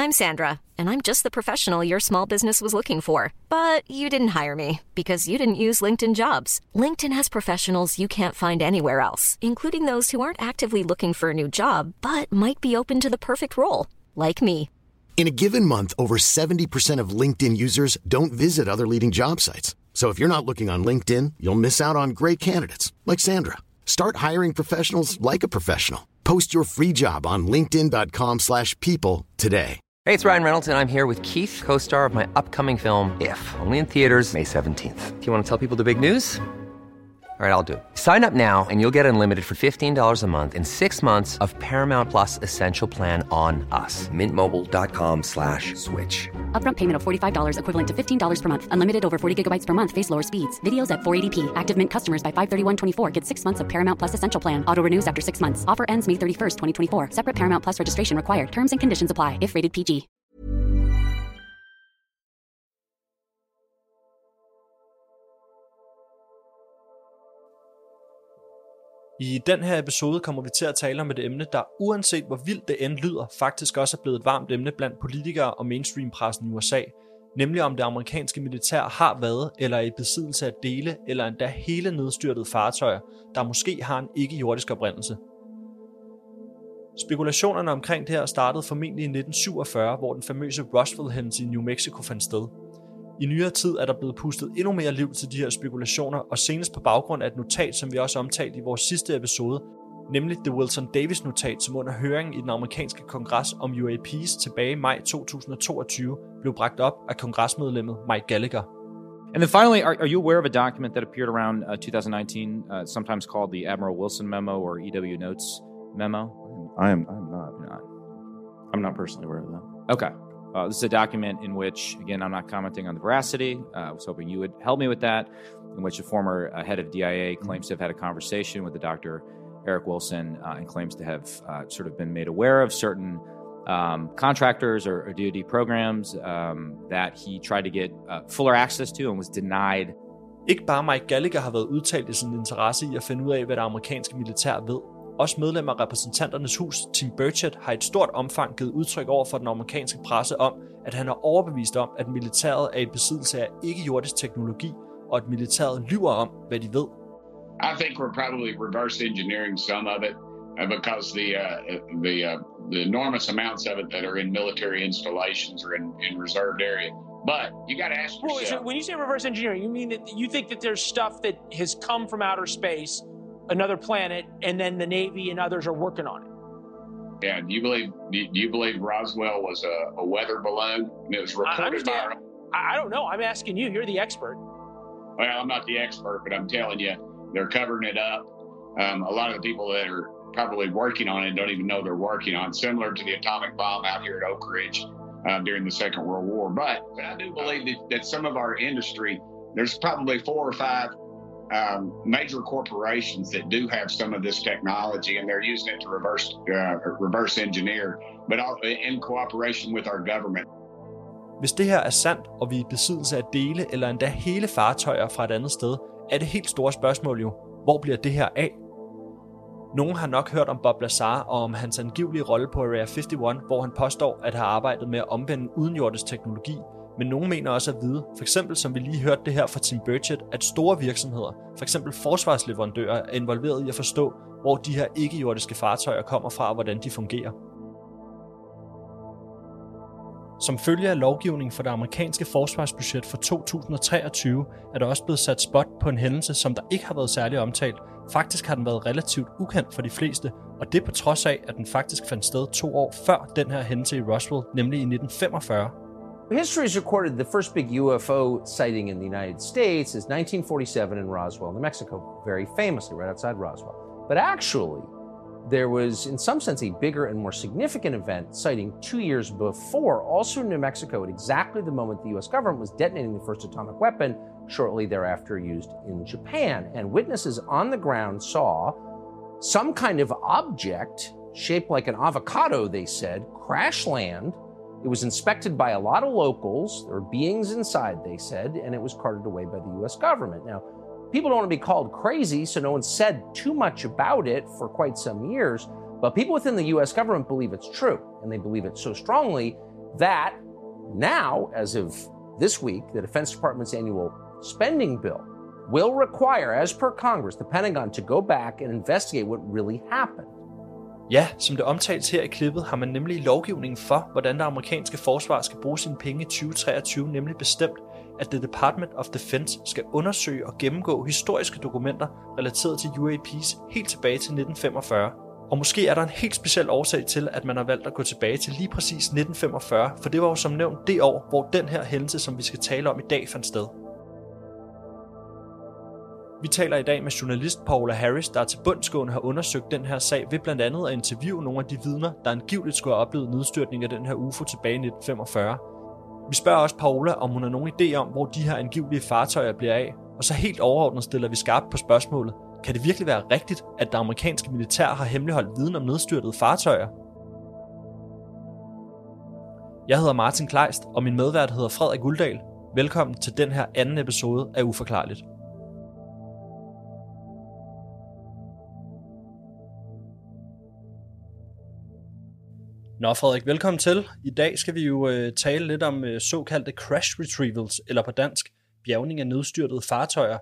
I'm Sandra, and I'm just the professional your small business was looking for. But you didn't hire me because you didn't use LinkedIn Jobs. LinkedIn has professionals you can't find anywhere else, including those who aren't actively looking for a new job, but might be open to the perfect role, like me. In a given month, over 70% of LinkedIn users don't visit other leading job sites. So if you're not looking on LinkedIn, you'll miss out on great candidates like Sandra. Start hiring professionals like a professional. Post your free job on linkedin.com/people today. Hey, it's Ryan Reynolds, and I'm here with Keith, co-star of my upcoming film, If, only in theaters May 17th. Do you want to tell people the big news? All right, I'll do it. Sign up now and you'll get unlimited for $15 a month and 6 months of Paramount Plus Essential Plan on us. MintMobile.com/switch. Upfront payment of $45 equivalent to $15 per month. Unlimited over 40 gigabytes per month. Face lower speeds. Videos at 480p. Active Mint customers by 531.24 get 6 months of Paramount Plus Essential Plan. Auto renews after 6 months. Offer ends May 31st, 2024. Separate Paramount Plus registration required. Terms and conditions apply if rated PG. I den her episode kommer vi til at tale om et emne, der uanset hvor vildt det end lyder, faktisk også er blevet et varmt emne blandt politikere og mainstream-pressen i USA, nemlig om det amerikanske militær har været eller er i besiddelse af dele eller endda hele nedstyrtede fartøjer, der måske har en ikke-jordisk oprindelse. Spekulationerne omkring det her startede formentlig i 1947, hvor den famøse Roswell-hændelse i New Mexico fandt sted. I nyere tid er der blevet pustet endnu mere liv til de her spekulationer, og senest på baggrund af et notat, som vi også omtalte i vores sidste episode, nemlig det Wilson Davis-notat, som under høringen i den amerikanske kongres om UAPs tilbage i maj 2022 blev bragt op af kongresmedlemmet Mike Gallagher. And then finally, are you aware of a document that appeared around 2019, sometimes called the Admiral Wilson Memo or EW Notes Memo? I'm not. I'm not personally aware of that. Okay. This is a document in which, again, I'm not commenting on the veracity. I was hoping you would help me with that, in which the former head of DIA claims to have had a conversation with the Dr. Eric Wilson and claims to have sort of been made aware of certain contractors or DoD programs that he tried to get fuller access to and was denied. Ikke bare Mike Gallagher har været udtalt i sin interesse i at finde ud af, hvad det amerikanske militær ved. Også medlem af repræsentanternes hus, Tim Burchett, har i et stort omfang givet udtryk over for den amerikanske presse om, at han er overbevist om, at militæret er i besiddelse af ikke-jordisk teknologi, og at militæret lyver om, hvad de ved. I think we're probably reverse engineering some of it because the enormous amounts of it that are in military installations or in reserved area. But you got to ask yourself. So when you say reverse engineering, you mean that you think that there's stuff that has come from outer space, another planet, and then the Navy and others are working on it? Yeah, do you believe Roswell was a weather balloon? And it was reported by... I don't know. I'm asking you. You're the expert. Well, I'm not the expert, but I'm telling you, they're covering it up. A lot of the people that are probably working on it don't even know they're working on it, similar to the atomic bomb out here at Oak Ridge during the Second World War. But I do believe that some of our industry, there's probably 4 or 5 major corporations that do have some of this technology, and they're using it to reverse engineer, but in cooperation with our government. Hvis det her er sandt, og vi er i besiddelse af dele eller endda hele fartøjer fra et andet sted, er det helt store spørgsmål jo, hvor bliver det her af? Nogen har nok hørt om Bob Lazar og om hans angivelige rolle på Area 51, hvor han påstår at have arbejdet med at omvende udenjordisk teknologi, men nogen mener også at vide, for eksempel som vi lige hørte det her fra Tim Burchett, at store virksomheder, for eksempel forsvarsleverandører, er involveret i at forstå, hvor de her ikke-jordiske fartøjer kommer fra og hvordan de fungerer. Som følge af lovgivning for det amerikanske forsvarsbudget for 2023, er der også blevet sat spot på en hændelse, som der ikke har været særlig omtalt. Faktisk har den været relativt ukendt for de fleste, og det på trods af, at den faktisk fandt sted 2 år før den her hændelse i Roswell, nemlig i 1945. History has recorded the first big UFO sighting in the United States is 1947 in Roswell, New Mexico, very famously right outside Roswell. But actually, there was, in some sense, a bigger and more significant event sighting 2 years before, also in New Mexico, at exactly the moment the U.S. government was detonating the first atomic weapon, shortly thereafter used in Japan. And witnesses on the ground saw some kind of object shaped like an avocado, they said, crash land. It was inspected by a lot of locals. There were beings inside, they said, and it was carted away by the U.S. government. Now, people don't want to be called crazy, so no one said too much about it for quite some years, but people within the U.S. government believe it's true, and they believe it so strongly that now, as of this week, the Defense Department's annual spending bill will require, as per Congress, the Pentagon to go back and investigate what really happened. Ja, som det omtales her i klippet, har man nemlig lovgivningen for, hvordan det amerikanske forsvar skal bruge sine penge i 2023, nemlig bestemt, at The Department of Defense skal undersøge og gennemgå historiske dokumenter relateret til UAPs helt tilbage til 1945. Og måske er der en helt speciel årsag til, at man har valgt at gå tilbage til lige præcis 1945, for det var jo som nævnt det år, hvor den her hændelse, som vi skal tale om i dag, fandt sted. Vi taler i dag med journalist Paola Harris, der til bundsgående har undersøgt den her sag ved blandt andet at interviewe nogle af de vidner, der angiveligt skulle have oplevet nedstyrtning af den her UFO tilbage i 1945. Vi spørger også Paola, om hun har nogen idé om, hvor de her angivelige fartøjer bliver af, og så helt overordnet stiller vi skarpt på spørgsmålet: kan det virkelig være rigtigt, at det amerikanske militær har hemmeligholdt viden om nedstyrtede fartøjer? Jeg hedder Martin Kleist, og min medvært hedder Frederik Uldal. Velkommen til den her anden episode af Uforklarligt. Nå Frederik, velkommen til. I dag skal vi jo tale lidt om såkaldte crash retrievals, eller på dansk, bjærgning af nedstyrtede fartøjer.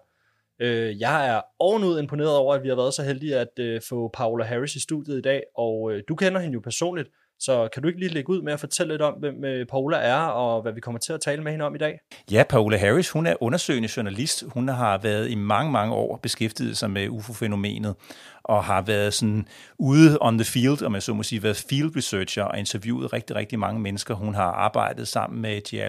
Jeg er ovenud imponeret over, at vi har været så heldige at få Paola Harris i studiet i dag, og du kender hende jo personligt, så kan du ikke lige lægge ud med at fortælle lidt om, hvem Paola er, og hvad vi kommer til at tale med hende om i dag? Ja, Paola Harris, hun er undersøgende journalist. Hun har været i mange, mange år beskæftiget sig med UFO-fænomenet, og har været sådan ude on the field, om jeg så må sige, været field researcher og interviewet rigtig, rigtig mange mennesker. Hun har arbejdet sammen med J.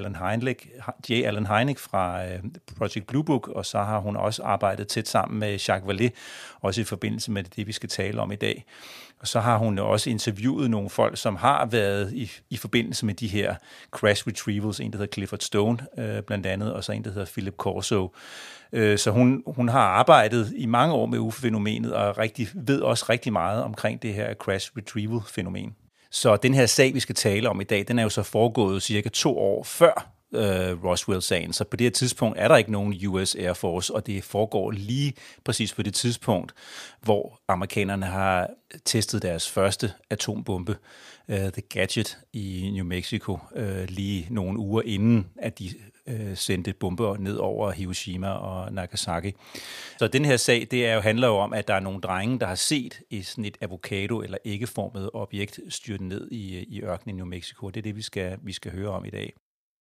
Allen Hynek fra Project Blue Book, og så har hun også arbejdet tæt sammen med Jacques Vallée, også i forbindelse med det, vi skal tale om i dag. Og så har hun også interviewet nogle folk, som har været i forbindelse med de her crash retrievals, en der hedder Clifford Stone blandt andet, og så en der hedder Philip Corso. Så hun har arbejdet i mange år med UFO-fænomenet, og ved også rigtig meget omkring det her crash retrieval-fænomen. Så den her sag, vi skal tale om i dag, den er jo så foregået cirka 2 år før Roswell-sagen, så på det her tidspunkt er der ikke nogen US Air Force, og det foregår lige præcis på det tidspunkt, hvor amerikanerne har testet deres første atombombe, The Gadget i New Mexico, lige nogle uger inden, at de sendte bomber ned over Hiroshima og Nagasaki. Så den her sag, handler jo om, at der er nogle drenge, der har set sådan et avocado- eller æggeformet objekt styrte ned i ørkenen i New Mexico. Det er det, vi skal høre om i dag.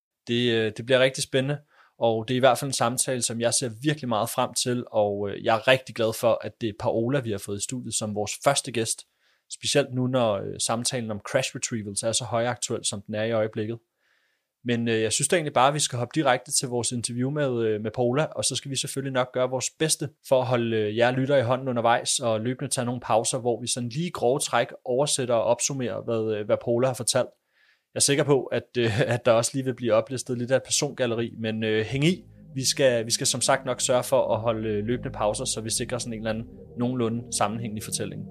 Det bliver rigtig spændende, og det er i hvert fald en samtale, som jeg ser virkelig meget frem til, og jeg er rigtig glad for, at det er Paola, vi har fået i studiet som vores første gæst, specielt nu, når samtalen om crash retrievals er så højaktuel, som den er i øjeblikket. Men jeg synes da egentlig bare, at vi skal hoppe direkte til vores interview med Paola, og så skal vi selvfølgelig nok gøre vores bedste for at holde jer lytter i hånden undervejs, og løbende tage nogle pauser, hvor vi sådan lige grove træk oversætter og opsummerer, hvad Paola har fortalt. Jeg er sikker på, at der også lige vil blive oplistet lidt af et persongalleri, men hæng i. Vi skal som sagt nok sørge for at holde løbende pauser, så vi sikrer sådan en eller anden nogenlunde sammenhængende fortælling.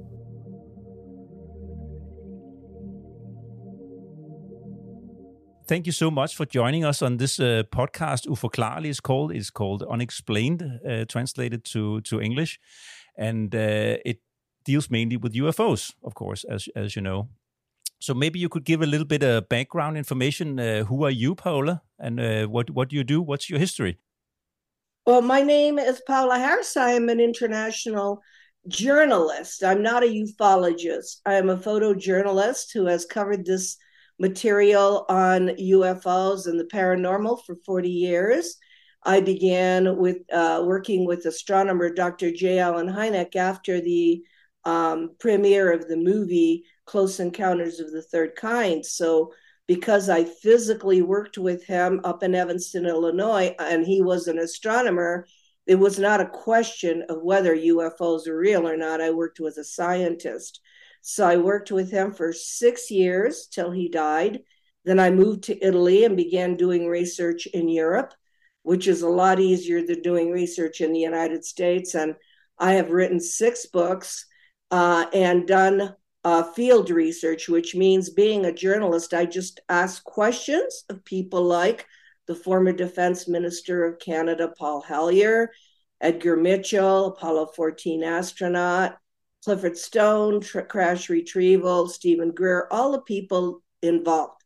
Thank you so much for joining us on this podcast. Uforklarligt it's called Unexplained, translated to English, and it deals mainly with UFOs, of course, as you know. So maybe you could give a little bit of background information. Who are you, Paola, and what do you do? What's your history? Well, my name is Paola Harris. I am an international journalist. I'm not a ufologist. I am a photojournalist who has covered this material on UFOs and the paranormal for 40 years. I began with working with astronomer Dr. J. Allen Hynek after the premiere of the movie Close Encounters of the Third Kind. So because I physically worked with him up in Evanston, Illinois, and he was an astronomer, it was not a question of whether UFOs are real or not. I worked with a scientist. So I worked with him for 6 years till he died. Then I moved to Italy and began doing research in Europe, which is a lot easier than doing research in the United States. And I have written 6 books and done field research, which means being a journalist, I just ask questions of people like the former Defense Minister of Canada, Paul Hellyer, Edgar Mitchell, Apollo 14 astronaut, Clifford Stone, crash retrieval, Stephen Greer, all the people involved.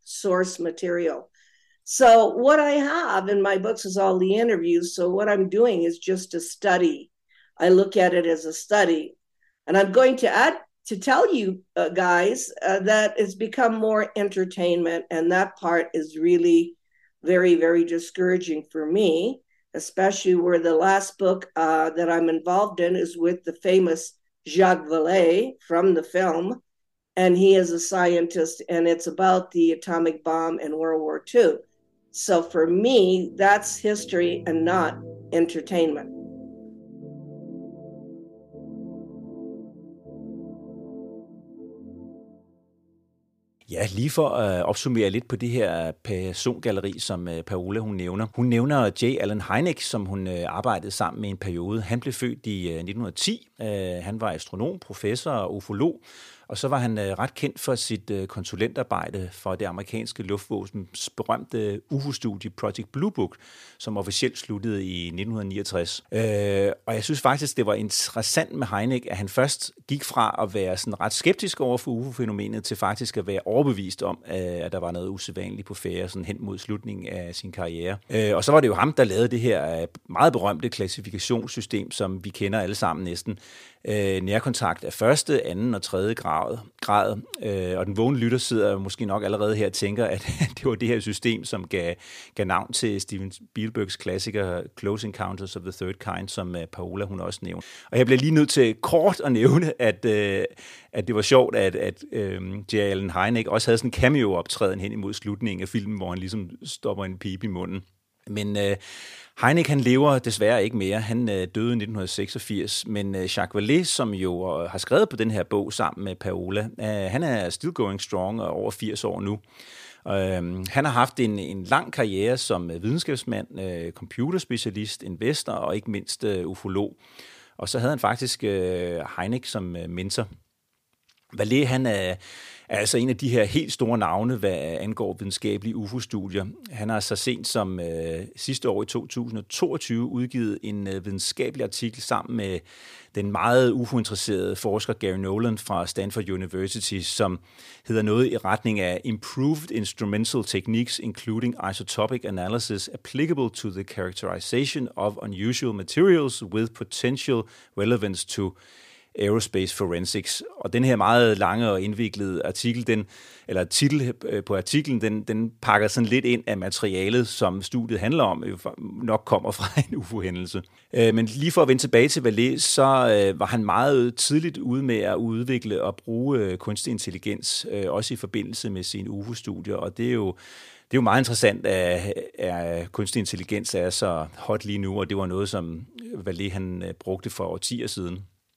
source material. So what I have in my books is all the interviews. So what I'm doing is just a study. I look at it as a study. And I'm going to add to tell you guys that it's become more entertainment. And that part is really very, very discouraging for me, especially where the last book that I'm involved in is with the famous Jacques Vallée from the film. And he is a scientist, and it's about the atomic bomb in World War II. So for me, that's history and not entertainment. Ja, lige for at opsummere lidt på det her persongalleri, som Paola hun nævner. Hun nævner J. Allen Hynek, som hun arbejdede sammen med en periode. Han blev født i 1910. Han var astronom, professor og ufolog. Og så var han ret kendt for sit konsulentarbejde for det amerikanske luftvåbens berømte UFO-studie Project Blue Book, som officielt sluttede i 1969. Og jeg synes faktisk, det var interessant med Hynek, at han først gik fra at være sådan ret skeptisk over for UFO-fænomenet til faktisk at være overbevist om, at der var noget usædvanligt på færde sådan hen mod slutningen af sin karriere. Og så var det jo ham, der lavede det her meget berømte klassifikationssystem, som vi kender alle sammen næsten. Nærkontakt af første, anden og tredje grad. Og den vågne lytter sidder måske nok allerede her og tænker, at det var det her system, som gav navn til Steven Spielbergs klassiker Close Encounters of the Third Kind, som Paola hun også nævnte. Og jeg bliver lige nødt til kort at nævne, at det var sjovt, at J. Allen Hynek også havde sådan en cameo-optræden hen imod slutningen af filmen, hvor han ligesom stopper en pibe i munden. Men Hynek, han lever desværre ikke mere. Han døde i 1986, men Jacques Vallée, som jo har skrevet på den her bog sammen med Paola, han er still going strong og over 80 år nu. Han har haft en lang karriere som videnskabsmand, computerspecialist, investor og ikke mindst ufolog. Og så havde han faktisk Hynek som mentor. Vallée, han er altså en af de her helt store navne, hvad angår videnskabelige UFO-studier. Han har så sent som sidste år i 2022 udgivet en videnskabelig artikel sammen med den meget UFO-interesserede forsker Gary Nolan fra Stanford University, som hedder noget i retning af Improved Instrumental Techniques including isotopic analysis applicable to the characterization of unusual materials with potential relevance to Aerospace Forensics. Og den her meget lange og indviklede artikel, titel på artiklen, den pakker sådan lidt ind af materialet, som studiet handler om, nok kommer fra en UFO-hændelse. Men lige for at vende tilbage til Vallée, så var han meget tidligt ude med at udvikle og bruge kunstig intelligens, også i forbindelse med sine UFO-studier, og det er jo meget interessant, at kunstig intelligens er så hot lige nu, og det var noget, som Vallée han brugte for årtier siden.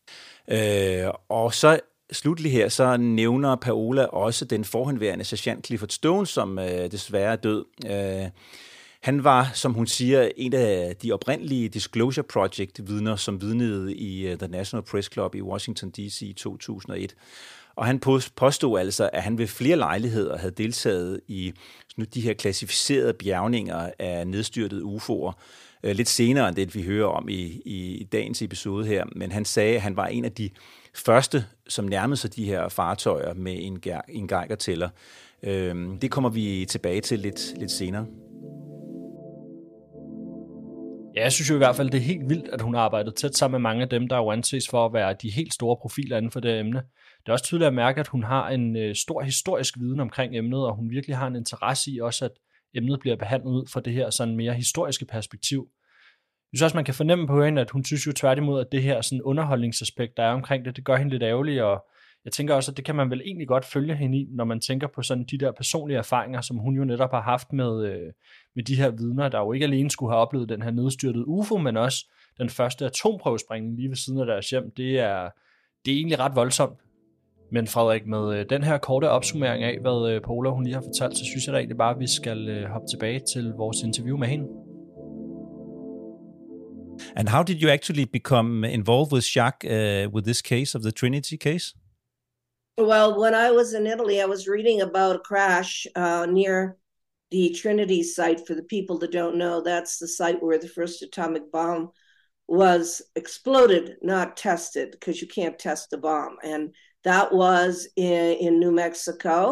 Og så slutlig her, så nævner Paola også den forhenværende sergeant Clifford Stone, som desværre er død. Han var, som hun siger, en af de oprindelige Disclosure Project-vidner, som vidnede i The National Press Club i Washington D.C. i 2001. Og han påstod altså, at han ved flere lejligheder havde deltaget i de her klassificerede bjergninger af nedstyrtede UFO'er. Lidt senere end det, vi hører om i dagens episode her. Men han sagde, at han var en af de første, som nærmede sig de her fartøjer med en Geiger-tæller. Det kommer vi tilbage til lidt senere. Ja, jeg synes jo i hvert fald, det er helt vildt, at hun har arbejdet tæt sammen med mange af dem, der jo anses for at være de helt store profiler inden for det emne. Det er også tydeligt at mærke, at hun har en stor historisk viden omkring emnet, og hun virkelig har en interesse i også, at emnet bliver behandlet ud fra det her sådan mere historiske perspektiv. Jeg synes også, man kan fornemme på hende, at hun synes jo tværtimod, at det her sådan underholdningsaspekt, der er omkring det gør hende lidt ærgerlig, og jeg tænker også, at det kan man vel egentlig godt følge hende i, når man tænker på sådan de der personlige erfaringer, som hun jo netop har haft med de her vidner, der jo ikke alene skulle have oplevet den her nedstyrtede UFO, men også den første atomprøvesprængning lige ved siden af deres hjem. Det er egentlig ret voldsomt. Men Frederik, med den her korte opsummering af, hvad Paola hun lige har fortalt, så synes jeg da egentlig bare, at vi skal hoppe tilbage til vores interview med hende. And how did you actually become involved with Jacques with this case of the Trinity case? Well, when I was in Italy, I was reading about a crash near the Trinity site. For the people that don't know, that's the site where the first atomic bomb was exploded, not tested, because you can't test a bomb. And that was in New Mexico.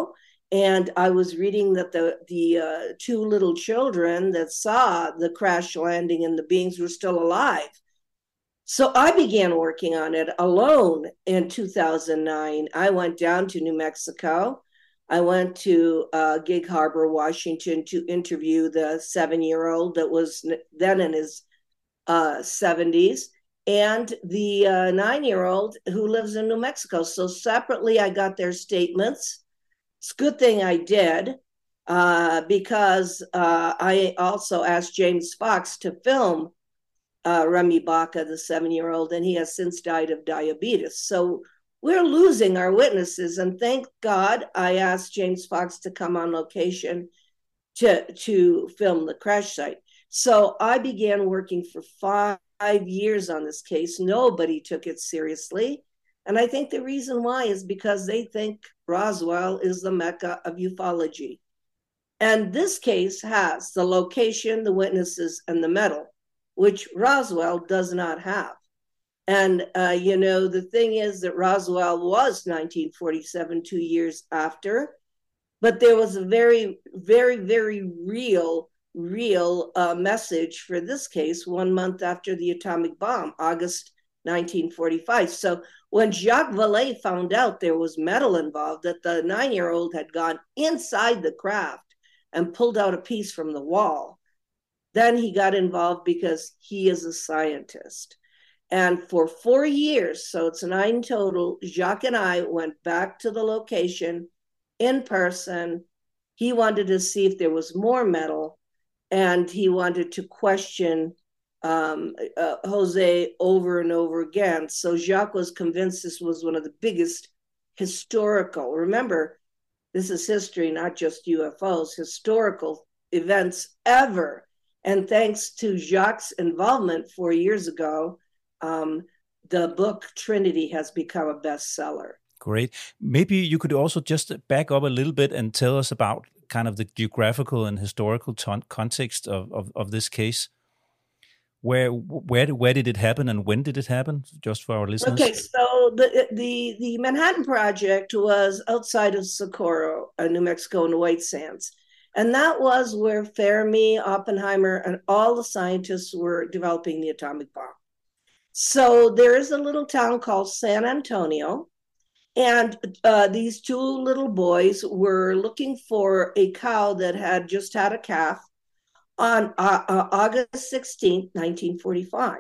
And I was reading that the two little children that saw the crash landing and the beings were still alive. So I began working on it alone in 2009. I went down to New Mexico. I went to Gig Harbor, Washington, to interview the 7-year-old that was then in his 70s, and the 9-year-old who lives in New Mexico. So separately, I got their statements. It's a good thing I did, because I also asked James Fox to film Remy Baca, the 7-year-old, and he has since died of diabetes. So we're losing our witnesses, and thank God I asked James Fox to come on location to film the crash site. So I began working for 5 years on this case. Nobody took it seriously. And I think the reason why is because they think Roswell is the Mecca of ufology. And this case has the location, the witnesses, and the metal, which Roswell does not have. And, the thing is that Roswell was 1947, 2 years after, but there was a very, very, very real message for this case 1 month after the atomic bomb, August 1945. So when Jacques Vallée found out there was metal involved, that the 9-year-old had gone inside the craft and pulled out a piece from the wall, then he got involved because he is a scientist. And for 4 years, so it's 9 total, Jacques and I went back to the location in person. He wanted to see if there was more metal, and he wanted to question Jose over and over again. So Jacques was convinced this was one of the biggest historical, remember, this is history, not just UFOs, historical events ever. And thanks to Jacques' involvement 4 years ago, the book Trinity has become a bestseller. Great. Maybe you could also just back up a little bit and tell us about kind of the geographical and historical context of this case. Where did it happen and when did it happen? Just for our listeners. Okay, so the Manhattan Project was outside of Socorro, New Mexico, in the White Sands. And that was where Fermi, Oppenheimer, and all the scientists were developing the atomic bomb. So there is a little town called San Antonio, and these two little boys were looking for a cow that had just had a calf on August 16th, 1945.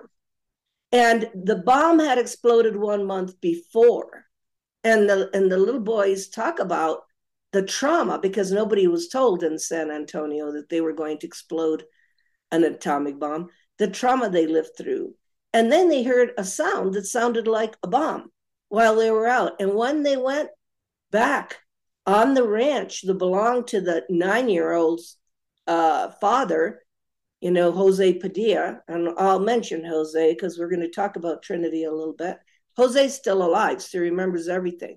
And the bomb had exploded 1 month before. And the little boys talk about the trauma, because nobody was told in San Antonio that they were going to explode an atomic bomb, the trauma they lived through. And then they heard a sound that sounded like a bomb while they were out. And when they went back on the ranch that belonged to the 9-year-old's father, Jose Padilla, and I'll mention Jose because we're going to talk about Trinity a little bit. Jose's still alive, so he remembers everything.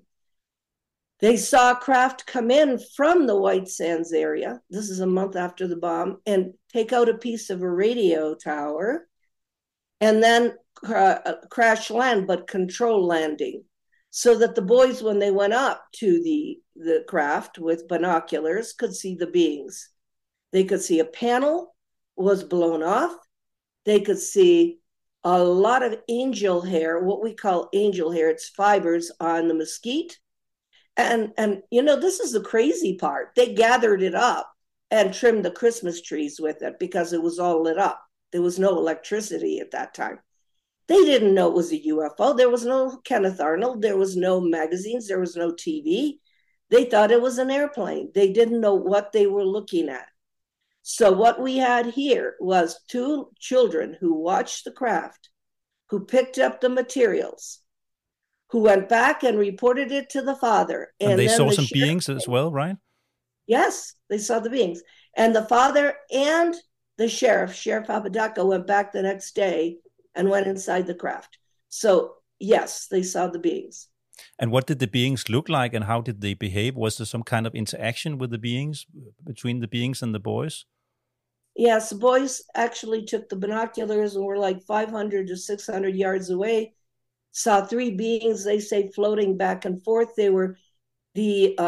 They saw a craft come in from the White Sands area. This is a month after the bomb, and take out a piece of a radio tower, and then crash land, but control landing, so that the boys, when they went up to the craft with binoculars, could see the beings. They could see a panel was blown off. They could see a lot of angel hair, what we call angel hair. It's fibers on the mesquite. And this is the crazy part. They gathered it up and trimmed the Christmas trees with it because it was all lit up. There was no electricity at that time. They didn't know it was a UFO. There was no Kenneth Arnold. There was no magazines. There was no TV. They thought it was an airplane. They didn't know what they were looking at. So what we had here was two children who watched the craft, who picked up the materials, who went back and reported it to the father. And they saw some beings as well, right? Yes, they saw the beings. And the father and the Sheriff Apodaca, went back the next day and went inside the craft. So, yes, they saw the beings. And what did the beings look like and how did they behave? Was there some kind of interaction with the beings, between the beings and the boys? Yes, the boys actually took the binoculars and were like 500 to 600 yards away, saw three beings, they say, floating back and forth. They were the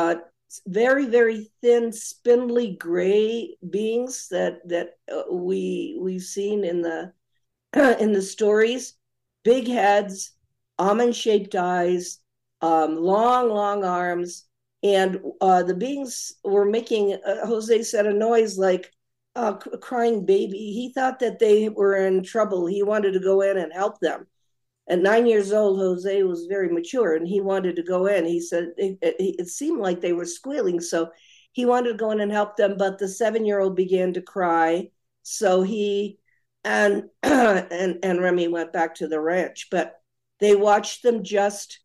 very, very thin, spindly gray beings that we've seen in the in the stories. Big heads, almond-shaped eyes, long arms, and the beings were making, Jose said, a noise like a crying baby. He thought that they were in trouble. He wanted to go in and help them. At 9 years old, Jose was very mature, and he wanted to go in. He said it seemed like they were squealing, so he wanted to go in and help them, but the 7-year-old began to cry, so he and Remy went back to the ranch, but they watched them just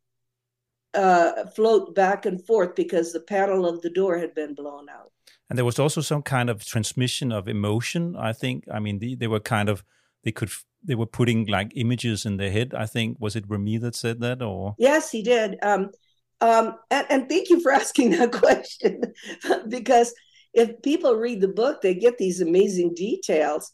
float back and forth because the panel of the door had been blown out. And there was also some kind of transmission of emotion, I think. I mean, they were kind of, they were putting like images in their head, I think. Was it Remy that said that? Or Yes, he did. And thank you for asking that question, because if people read the book, they get these amazing details.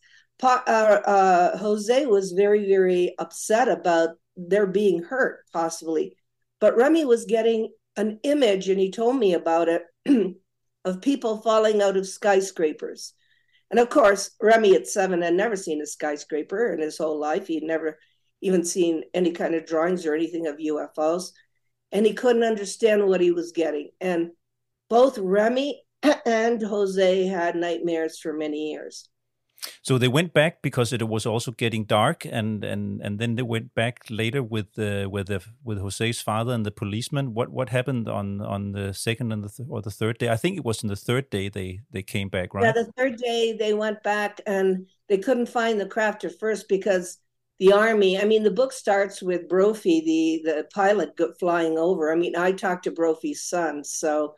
Jose was very, very upset about their being hurt, possibly. But Remy was getting an image, and he told me about it, of people falling out of skyscrapers. And of course, Remy at 7 had never seen a skyscraper in his whole life. He'd never even seen any kind of drawings or anything of UFOs. And he couldn't understand what he was getting. And both Remy and Jose had nightmares for many years. So they went back because it was also getting dark, and then they went back later with Jose's father and the policeman. What happened on the second and the third day? I think it was on the third day they came back, right? Yeah, the third day they went back, and they couldn't find the craft at first because the Army. I mean, the book starts with Brophy, the pilot, flying over. I mean, I talked to Brophy's son, so.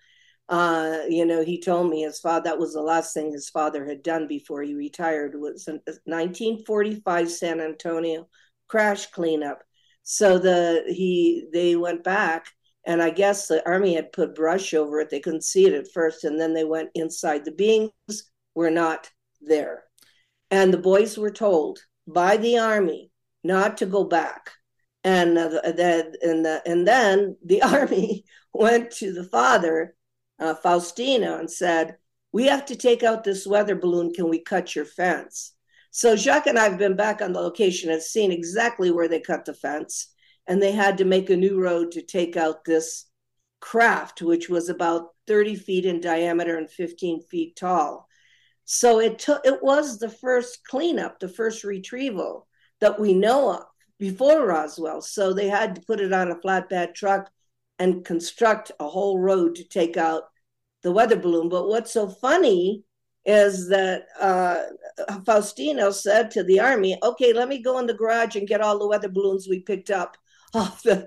He told me his father, that was the last thing his father had done before he retired, was a 1945 San Antonio crash cleanup. So they went back, and I guess the Army had put brush over it. They couldn't see it at first, and then they went inside. The beings were not there. And the boys were told by the Army not to go back. And then the Army went to the father, Faustino, and said, "We have to take out this weather balloon. Can we cut your fence?" So Jacques and I have been back on the location and seen exactly where they cut the fence. And they had to make a new road to take out this craft, which was about 30 feet in diameter and 15 feet tall. So it was the first cleanup, the first retrieval that we know of before Roswell. So they had to put it on a flatbed truck and construct a whole road to take out the weather balloon. But what's so funny is that Faustino said to the Army, "Okay, let me go in the garage and get all the weather balloons we picked up off the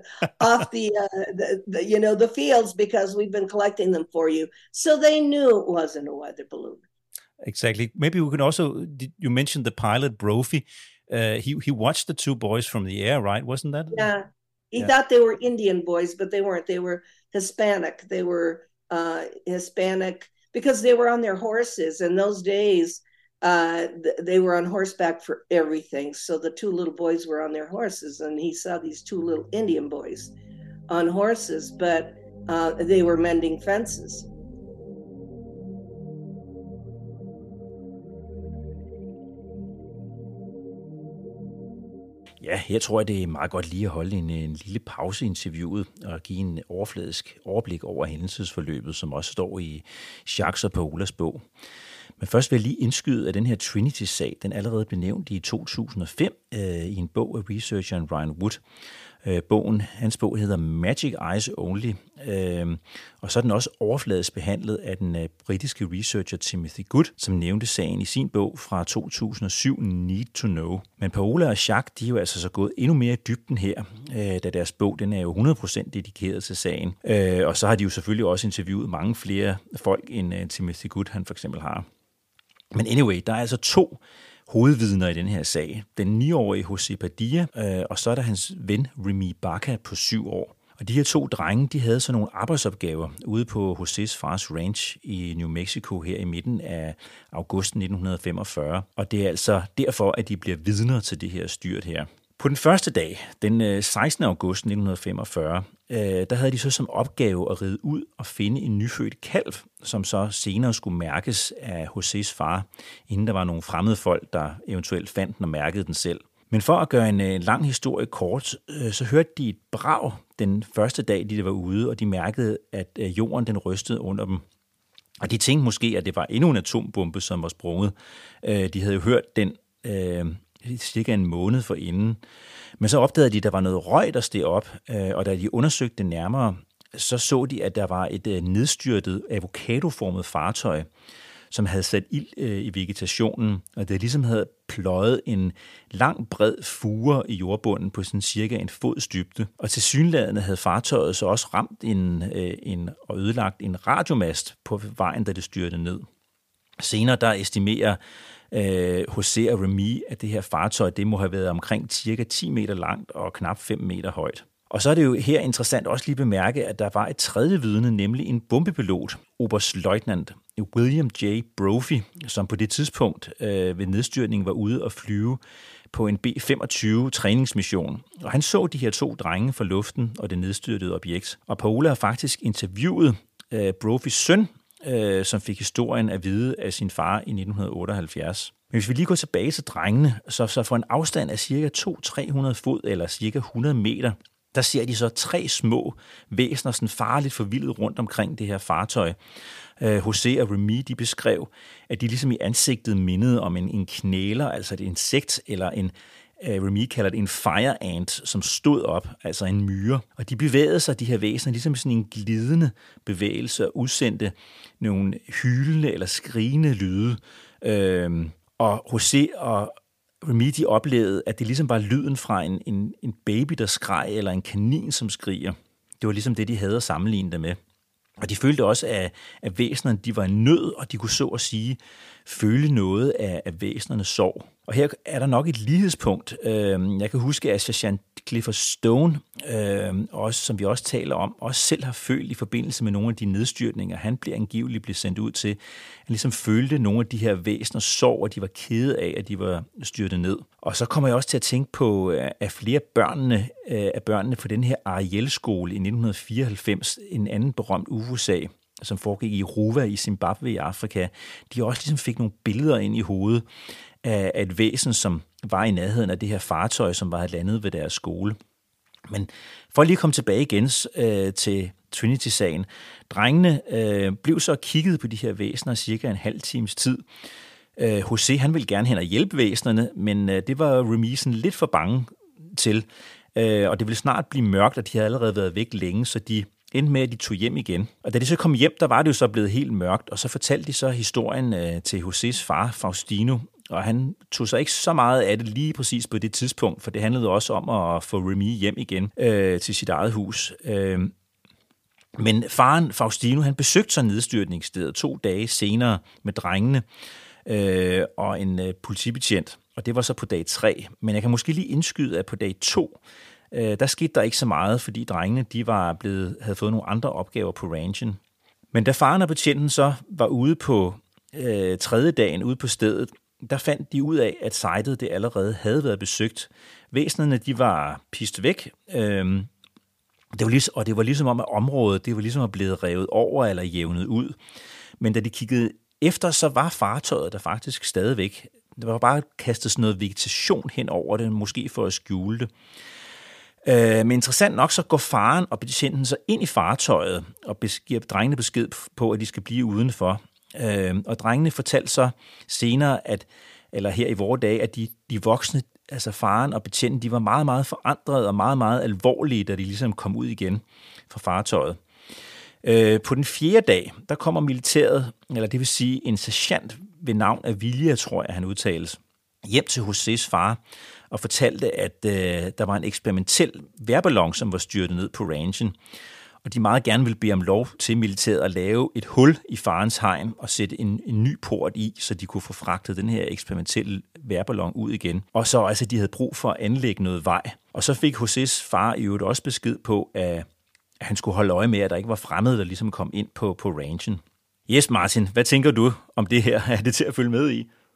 fields, because we've been collecting them for you." So they knew it wasn't a weather balloon. Exactly. Maybe we can also, you mentioned the pilot Brophy. He watched the two boys from the air, right? Wasn't that? Yeah. He thought they were Indian boys, but they weren't. They were Hispanic. They were Hispanic because they were on their horses. In those days, they were on horseback for everything. So the two little boys were on their horses, and he saw these two little Indian boys on horses, but they were mending fences. Ja, jeg tror, det er meget godt lige at holde en lille pause i interviewet og give en overfladisk overblik over hændelsesforløbet, som også står i Jacques og Paolas bog. Men først vil jeg lige indskyde, at den her Trinity-sag, den allerede blev nævnt i 2005 i en bog af researcheren Ryan Wood. Hans bog hedder Magic Eyes Only, og så er den også overfladisk behandlet af den britiske researcher Timothy Good, som nævnte sagen i sin bog fra 2007, Need to Know. Men Paola og Jacques, de er jo altså så gået endnu mere i dybden her, da deres bog, den er jo 100% dedikeret til sagen. Og så har de jo selvfølgelig også interviewet mange flere folk, end Timothy Good, han for eksempel har. Men anyway, der er altså 2 hovedvidner i den her sag. Den 9-årige José Padilla, og så er der hans ven Remy Baca på 7 år. Og de her 2 drenge, de havde så nogle arbejdsopgaver ude på Josés fars ranch i New Mexico her i midten af august 1945. Og det er altså derfor, at de bliver vidner til det her styrt her. På den første dag, den 16. august 1945, der havde de så som opgave at ride ud og finde en nyfødt kalv, som så senere skulle mærkes af Josés far, inden der var nogle fremmede folk, der eventuelt fandt den og mærkede den selv. Men for at gøre en lang historie kort, så hørte de et brag den første dag, de var ude, og de mærkede, at jorden den rystede under dem. Og de tænkte måske, at det var endnu en atombombe, som var sprunget. De havde jo hørt den cirka en måned forinden. Men så opdagede de, at der var noget røg, der steg op, og da de undersøgte det nærmere, så de, at der var et nedstyrtet avocadoformet fartøj, som havde sat ild i vegetationen, og det ligesom havde pløjet en lang, bred fure i jordbunden på sådan cirka en fods dybde. Og tilsyneladende havde fartøjet så også ramt og ødelagt en radiomast på vejen, da det styrtede ned. Senere der estimerer José og Remy, at det her fartøj det må have været omkring cirka 10 meter langt og knap 5 meter højt. Og så er det jo her interessant også lige bemærke, at der var et tredje vidne, nemlig en bombepilot, oberstløjtnant William J. Brophy, som på det tidspunkt ved nedstyrtningen var ude og flyve på en B-25 træningsmission. Og han så de her 2 drenge fra luften og det nedstyrtede objekt. Og Paola har faktisk interviewet Brophy's søn, som fik historien at vide af sin far i 1978. Men hvis vi lige går tilbage til drengene, så for en afstand af cirka 200-300 fod eller cirka 100 meter, der ser de så 3 små væsener, sådan farligt forvildet rundt omkring det her fartøj. José og Remy, de beskrev, at de ligesom i ansigtet mindede om en knæler, altså et insekt, eller Remy kalder det en fire ant, som stod op, altså en myre. Og de bevægede sig, de her væsener, ligesom sådan en glidende bevægelse og udsendte nogle hylende eller skrigende lyde. Og José og Remy, de oplevede, at det ligesom var lyden fra en baby, der skreg, eller en kanin, som skriger. Det var ligesom det, de havde at sammenligne det med. Og de følte også, at væsenerne de var i nød, og de kunne så at sige føle noget af væsenernes sorg. Og her er der nok et lighedspunkt. Jeg kan huske, at Sergeant Clifford Stone, også, som vi også taler om, også selv har følt i forbindelse med nogle af de nedstyrtninger, han blev angiveligt sendt ud til. Han ligesom følte nogle af de her væseners sorg, og de var kede af, at de var styrtet ned. Og så kommer jeg også til at tænke på, at flere af børnene på den her Ariel-skole i 1994, en anden berømt UFO-sag, som foregik i Ruwa i Zimbabwe i Afrika, de også ligesom fik nogle billeder ind i hovedet af et væsen, som var i nærheden af det her fartøj, som var landet ved deres skole. Men for lige at komme tilbage igen til Trinity-sagen, drengene blev så kigget på de her væsener cirka en halv times tid. José, han ville gerne hen og hjælpe væsenerne, men det var Remy sådan lidt for bange til, og det ville snart blive mørkt, og de havde allerede været væk længe, så de endte med, at de tog hjem igen. Og da de så kom hjem, der var det jo så blevet helt mørkt, og så fortalte de så historien til Josés far, Faustino, og han tog sig ikke så meget af det lige præcis på det tidspunkt, for det handlede også om at få Remy hjem igen til sit eget hus. Men faren, Faustino, han besøgte så nedstyrtningsstedet 2 dage senere med drengene og en politibetjent, og det var så på dag 3. Men jeg kan måske lige indskyde, at på dag 2, der skete der ikke så meget, fordi drengene de havde fået nogle andre opgaver på ranchen. Men da faren og betjenten så var ude på 3. dagen ude på stedet, der fandt de ud af, at sitet det allerede havde været besøgt. Væsenerne de var pist væk, det var ligesom om, at området det var ligesom blevet revet over eller jævnet ud. Men da de kiggede efter, så var fartøjet der faktisk stadigvæk. Der var bare kastet sådan noget vegetation hen over det, måske for at skjule det. Men interessant nok, så går faren og betjenten så ind i fartøjet og giver drengene besked på, at de skal blive udenfor. Og drengene fortalte så senere, eller her i vore dage, at de voksne, altså faren og betjenten, de var meget, meget forandrede og meget, meget alvorlige, da de ligesom kom ud igen fra fartøjet. På den 4. dag, der kommer militæret, eller det vil sige en sergeant ved navn Avilia, tror jeg, han udtales, hjem til Josés far og fortalte, at der var en eksperimentel vejrballon, som var styrtet ned på ranchen. Og de meget gerne ville bede om lov til militæret at lave et hul i farens hegn og sætte en ny port i, så de kunne få fragtet den her eksperimentelle vejrballon ud igen. Og så altså, de havde brug for at anlægge noget vej. Og så fik Josés far i øvrigt også besked på, at han skulle holde øje med, at der ikke var fremmede, der ligesom kom ind på ranchen. Yes, Martin, hvad tænker du om det her? Er det til at følge med i?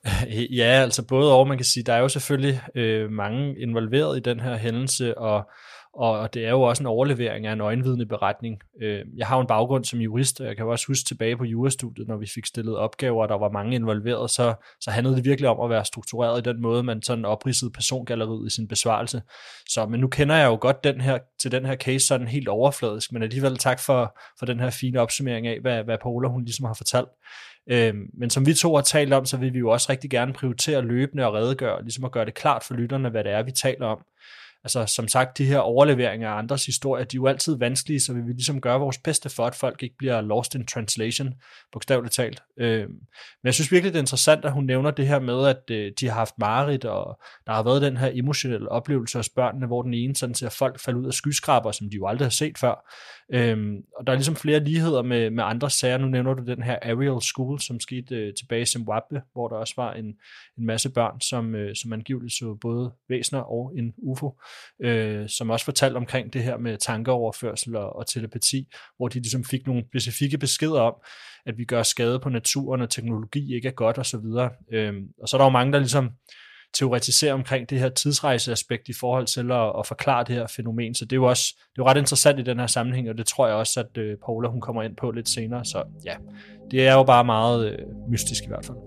Ja, altså både og, man kan sige, der er jo selvfølgelig mange involveret i den her hændelse, og det er jo også en overlevering af en øjenvidneberetning. Jeg har jo en baggrund som jurist, og jeg kan jo også huske tilbage på jurastudiet, når vi fik stillet opgaver, og der var mange involveret, så handlede det virkelig om at være struktureret i den måde, man sådan opridsede persongalleriet i sin besvarelse. Men nu kender jeg jo godt den her case sådan helt overfladisk, men alligevel tak for den her fine opsummering af, hvad Paola hun ligesom har fortalt. Men som vi to har talt om, så vil vi jo også rigtig gerne prioritere løbende og redegøre, ligesom at gøre det klart for lytterne, hvad det er, vi taler om. Altså som sagt, de her overleveringer af andres historier, de er jo altid vanskelige, så vi vil ligesom gøre vores bedste for, at folk ikke bliver lost in translation, bogstaveligt talt. Men jeg synes virkelig, det er interessant, at hun nævner det her med, at de har haft mareridt, og der har været den her emotionelle oplevelse hos børnene, hvor den ene sådan ser folk falde ud af skyskraber, som de jo aldrig har set før. Og der er ligesom flere ligheder med andre sager. Nu nævner du den her Ariel School, som skete tilbage i Zimbabwe, hvor der også var en masse børn, som angiveligt så både væsener og en UFO, som også fortalte omkring det her med tankeoverførsel og telepati, hvor de ligesom fik nogle specifikke beskeder om, at vi gør skade på naturen, og teknologi ikke er godt osv. Og så er der jo mange, der ligesom teoretiserer omkring det her tidsrejseaspekt i forhold til at forklare det her fænomen, så det er jo ret interessant i den her sammenhæng, og det tror jeg også, at Paola hun kommer ind på lidt senere, så ja, det er jo bare meget mystisk i hvert fald.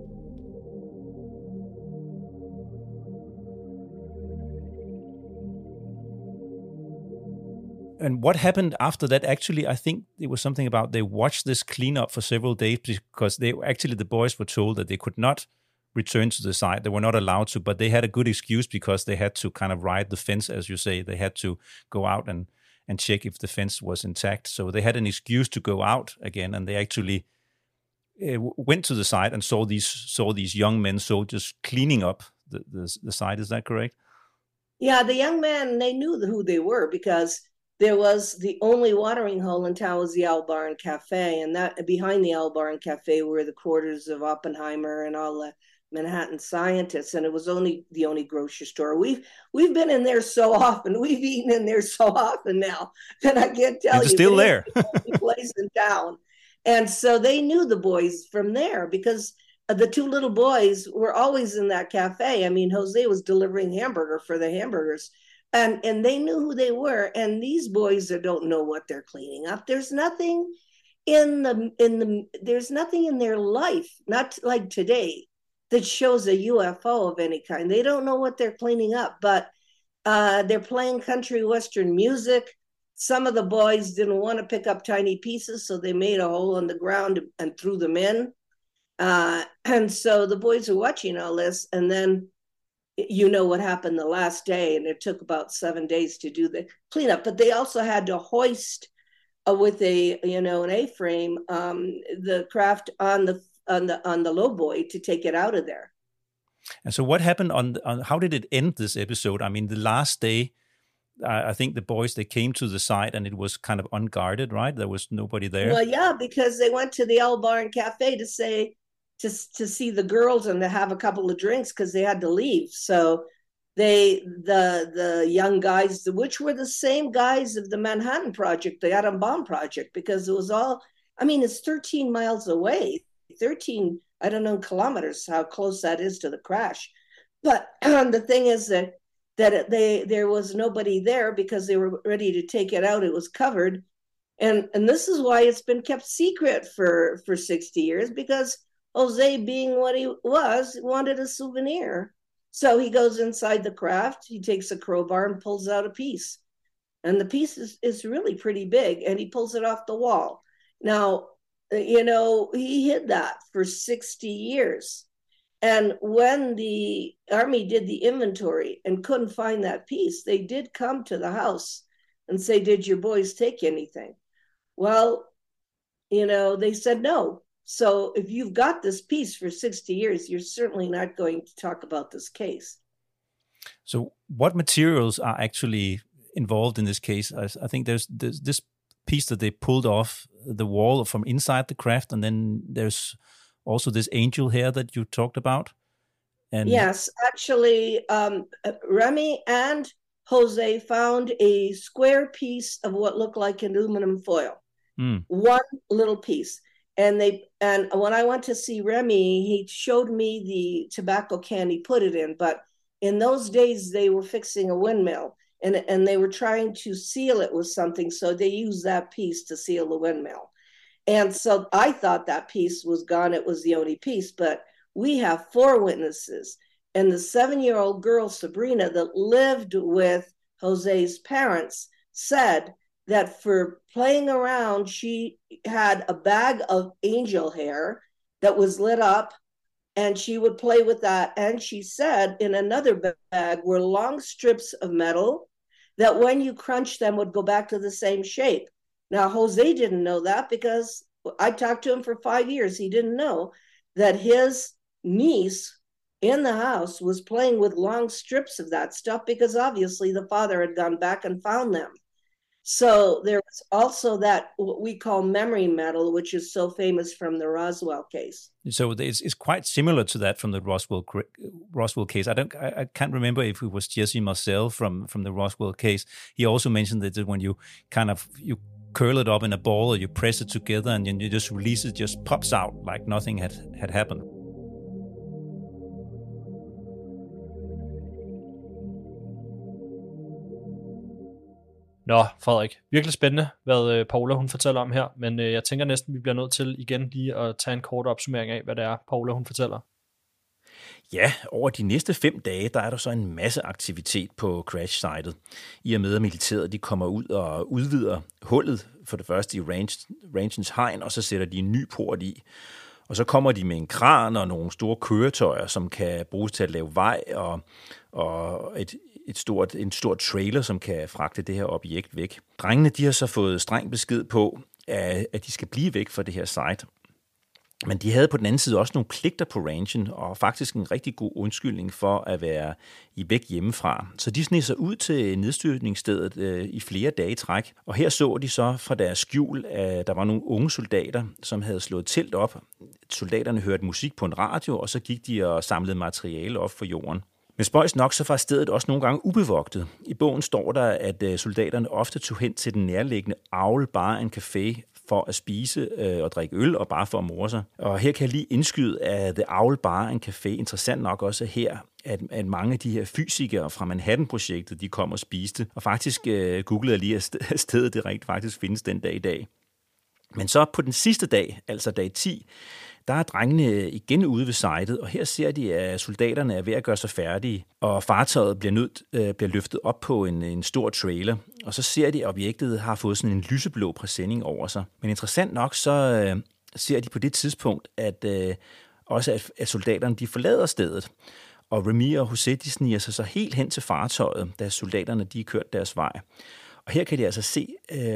And what happened after that? Actually, I think it was something about they watched this cleanup for several days because the boys were told that they could not return to the site. They were not allowed to, but they had a good excuse because they had to kind of ride the fence, as you say. They had to go out and check if the fence was intact. So they had an excuse to go out again, and they actually went to the site and saw these young men soldiers cleaning up the site. Is that correct? Yeah, the young men, they knew who they were because there was the only watering hole in town was the Albarn Cafe, and that behind the Albarn Cafe were the quarters of Oppenheimer and all the Manhattan scientists, and it was the only grocery store. We've been in there so often. We've eaten in there so often now that I can't tell you. It's still there. The place in town, and so they knew the boys from there because the two little boys were always in that cafe. I mean, Jose was delivering hamburger for the hamburgers. And they knew who they were, and these boys that don't know what they're cleaning up. There's nothing there's nothing in their life, not like today, that shows a UFO of any kind. They don't know what they're cleaning up, but they're playing country western music. Some of the boys didn't want to pick up tiny pieces, so they made a hole in the ground and threw them in. And so the boys are watching all this, and then you know what happened the last day, and it took about 7 days to do the cleanup. But they also had to hoist with an A-frame the craft on the low buoy to take it out of there. And so, what happened on how did it end this episode? I mean, the last day, I think the boys they came to the site and it was kind of unguarded, right? There was nobody there. Well, yeah, because they went to the Albarn Cafe to see the girls and to have a couple of drinks because they had to leave. So the young guys, which were the same guys of the Manhattan Project, the atom bomb project, because it was all, I mean, it's 13 miles away, 13, I don't know, kilometers, how close that is to the crash. But the thing is that there was nobody there because they were ready to take it out. It was covered. And this is why it's been kept secret for 60 years, because Jose, being what he was, wanted a souvenir. So he goes inside the craft, he takes a crowbar and pulls out a piece. And the piece is really pretty big, and he pulls it off the wall. Now, he hid that for 60 years. And when the Army did the inventory and couldn't find that piece, they did come to the house and say, "Did your boys take anything?" Well, they said no. So if you've got this piece for 60 years, you're certainly not going to talk about this case. So what materials are actually involved in this case? I think there's this piece that they pulled off the wall from inside the craft, and then there's also this angel hair that you talked about. And yes, actually, Remy and Jose found a square piece of what looked like aluminum foil. One little piece. And when I went to see Remy, he showed me the tobacco can he put it in. But in those days, they were fixing a windmill, and they were trying to seal it with something. So they used that piece to seal the windmill. And so I thought that piece was gone. It was the only piece. But we have 4 witnesses. And the 7-year-old girl, Sabrina, that lived with Jose's parents, said that for playing around, she had a bag of angel hair that was lit up, and she would play with that. And she said in another bag were long strips of metal that when you crunch them would go back to the same shape. Now, Jose didn't know that because I talked to him for 5 years. He didn't know that his niece in the house was playing with long strips of that stuff because obviously the father had gone back and found them. So there was also that what we call memory metal, which is so famous from the Roswell case. So it's quite similar to that from the Roswell case. I can't remember if it was Jesse Marcel from the Roswell case. He also mentioned that when you you curl it up in a ball or you press it together and you just release it, just pops out like nothing had happened. Nå, Frederik, virkelig spændende, hvad Paula hun fortæller om her, men jeg tænker næsten, vi bliver nødt til igen lige at tage en kort opsummering af, hvad det er, Paula hun fortæller. Ja, over de næste 5 dage, der er der så en masse aktivitet på crash-sitet. I og med, at militæret de kommer ud og udvider hullet, for det første i rangens hegn, og så sætter de en ny port i. Og så kommer de med en kran og nogle store køretøjer, som kan bruges til at lave vej, og en stor trailer, som kan fragte det her objekt væk. Drengene de har så fået streng besked på, at de skal blive væk fra det her site. Men de havde på den anden side også nogle pligter på rangen, og faktisk en rigtig god undskyldning for at være væk hjemmefra. Så de sneg sig ud til nedstyrtningsstedet i flere dage i træk, og her så de så fra deres skjul, at der var nogle unge soldater, som havde slået telt op. Soldaterne hørte musik på en radio, og så gik de og samlede materiale op for jorden. Men spøjs nok, så var stedet også nogle gange ubevogtet. I bogen står der, at soldaterne ofte tog hen til den nærliggende Owl Bar and Café for at spise og drikke øl og bare for at more sig. Og her kan jeg lige indskyde, at The Owl Bar and Café interessant nok også her, at mange af de her fysikere fra Manhattan-projektet, de kom og spiste. Og faktisk googlede jeg lige, at stedet det rent faktisk findes den dag i dag. Men så på den sidste dag, altså dag 10, der er drengene igen ude ved sitet, og her ser de, at soldaterne er ved at gøre sig færdige, og fartøjet bliver løftet op på en stor trailer, og så ser de, at objektet har fået sådan en lyseblå præsending over sig. Men interessant nok, så ser de på det tidspunkt, at soldaterne de forlader stedet, og Remy og Jose de sniger sig så helt hen til fartøjet, da soldaterne de er kørt deres vej. Og her kan de altså se,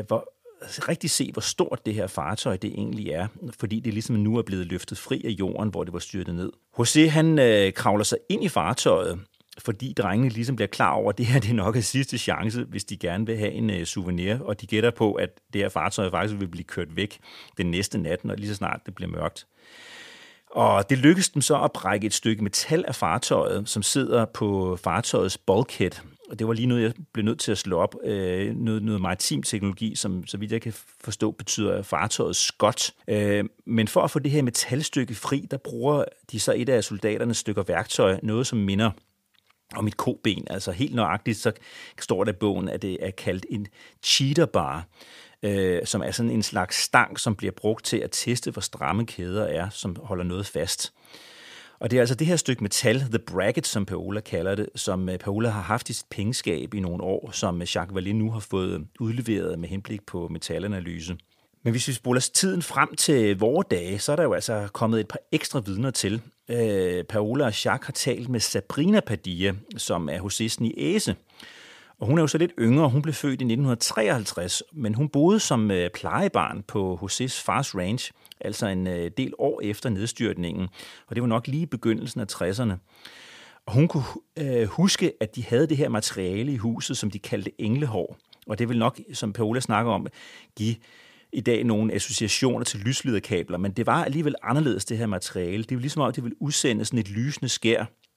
hvor stort det her fartøj det egentlig er, fordi det ligesom nu er blevet løftet fri af jorden, hvor det var styrtet ned. Jose han kravler sig ind i fartøjet, fordi drengene ligesom bliver klar over, at det her det er nok er sidste chance, hvis de gerne vil have en souvenir, og de gætter på, at det her fartøj faktisk vil blive kørt væk den næste nat, når lige så snart det bliver mørkt. Og det lykkedes dem så at brække et stykke metal af fartøjet, som sidder på fartøjets bulkhead. Og det var lige noget, jeg blev nødt til at slå op. Noget maritim teknologi, som så vidt jeg kan forstå, betyder fartøjets skot. Men for at få det her metalstykke fri, der bruger de så et af soldaternes stykker værktøj, noget som minder om et koben. Altså helt nøjagtigt, så står der i bogen, at det er kaldt en cheater bar, som er sådan en slags stang, som bliver brugt til at teste, hvor stramme kæder er, som holder noget fast. Og det er altså det her stykke metal, the bracket, som Paola kalder det, som Paola har haft i sit pengeskab i nogle år, som Jacques Vallée nu har fået udleveret med henblik på metalanalyse. Men hvis vi spoler tiden frem til vore dage, så er der jo altså kommet et par ekstra vidner til. Paola og Jacques har talt med Sabrina Padilla, som er Josés niece. Og hun er jo så lidt yngre, hun blev født i 1953, men hun boede som plejebarn på Josés fars ranch, altså en del år efter nedstyrtningen, og det var nok lige i begyndelsen af 60'erne. Og hun kunne huske, at de havde det her materiale i huset, som de kaldte englehår, og det vil nok, som Paola snakker om, give i dag nogle associationer til lyslederkabler, men det var alligevel anderledes, det her materiale. Det var ligesom om, det ville udsende sådan et lysende skær,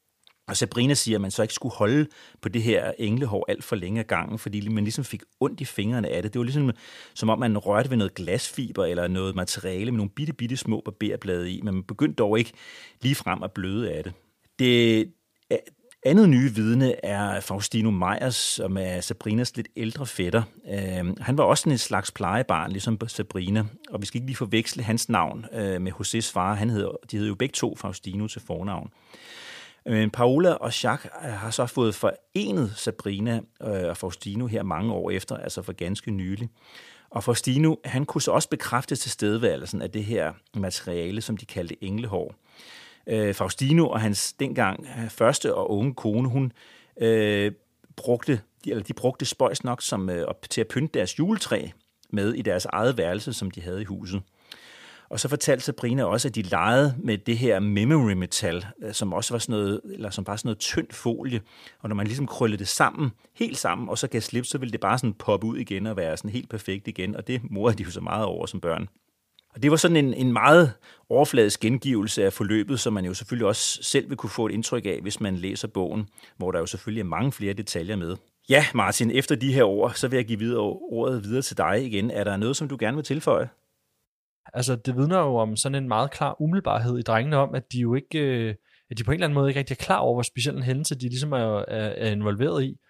Og Sabrina siger, at man så ikke skulle holde på det her englehår alt for længe ad gangen, fordi man ligesom fik ondt i fingrene af det. Det var ligesom, som om man rørte ved noget glasfiber eller noget materiale med nogle bitte små barberblade i, men man begyndte dog ikke lige frem at bløde af det. Det andet nye vidne er Faustino Meyers, som er Sabrinas lidt ældre fætter. Han var også en slags plejebarn, ligesom Sabrina, og vi skal ikke lige forveksle hans navn med Josés far. De hed jo begge to Faustino til fornavn. Paola og Jacques har så fået forenet Sabrina og Faustino her mange år efter, altså for ganske nylig. Og Faustino, han kunne så også bekræfte tilstedeværelsen af det her materiale, som de kaldte englehår. Faustino og hans dengang første og unge kone, de brugte spøjs nok til at pynte deres juletræ med i deres eget værelse, som de havde i huset. Og så fortalte Sabrina også, at de legede med det her memory metal, som også var sådan noget, eller som bare sådan noget tynd folie. Og når man ligesom krøllede det sammen, helt sammen, og så gav slip, så ville det bare sådan poppe ud igen og være sådan helt perfekt igen. Og det morede de jo så meget over som børn. Og det var sådan en meget overfladisk gengivelse af forløbet, som man jo selvfølgelig også selv vil kunne få et indtryk af, hvis man læser bogen, hvor der jo selvfølgelig er mange flere detaljer med. Ja, Martin, efter de her ord, så vil jeg give ordet videre til dig igen. Er der noget, som du gerne vil tilføje? Altså, det vidner jo om sådan en meget klar umiddelbarhed i drengene om, at de jo ikke, at de på en eller anden måde ikke rigtig er klar over, hvor speciel en hændelse de ligesom er involveret i.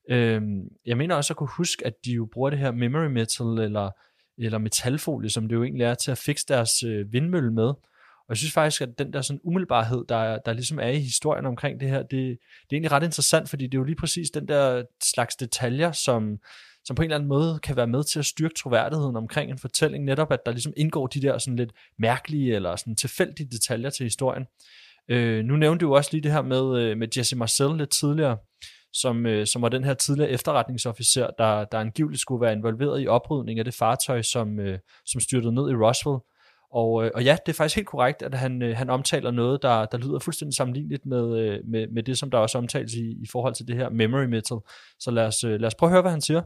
Jeg mener også at kunne huske, at de jo bruger det her memory metal eller metalfolie, som det jo egentlig er til at fikse deres vindmølle med. Og jeg synes faktisk, at den der sådan umiddelbarhed, der ligesom er i historien omkring det her, det er egentlig ret interessant, fordi det er jo lige præcis den der slags detaljer, som på en eller anden måde kan være med til at styrke troværdigheden omkring en fortælling, netop at der ligesom indgår de der sådan lidt mærkelige eller sådan tilfældige detaljer til historien. Nu nævnte du også lige det her med Jesse Marcel lidt tidligere, som var den her tidligere efterretningsofficer, der angiveligt skulle være involveret i oprydning af det fartøj, som styrtede ned i Roswell. Og ja, det er faktisk helt korrekt, at han omtaler noget, der lyder fuldstændig sammenligneligt med det, som der også omtales i forhold til det her memory metal. Så lad os prøve at høre, hvad han siger.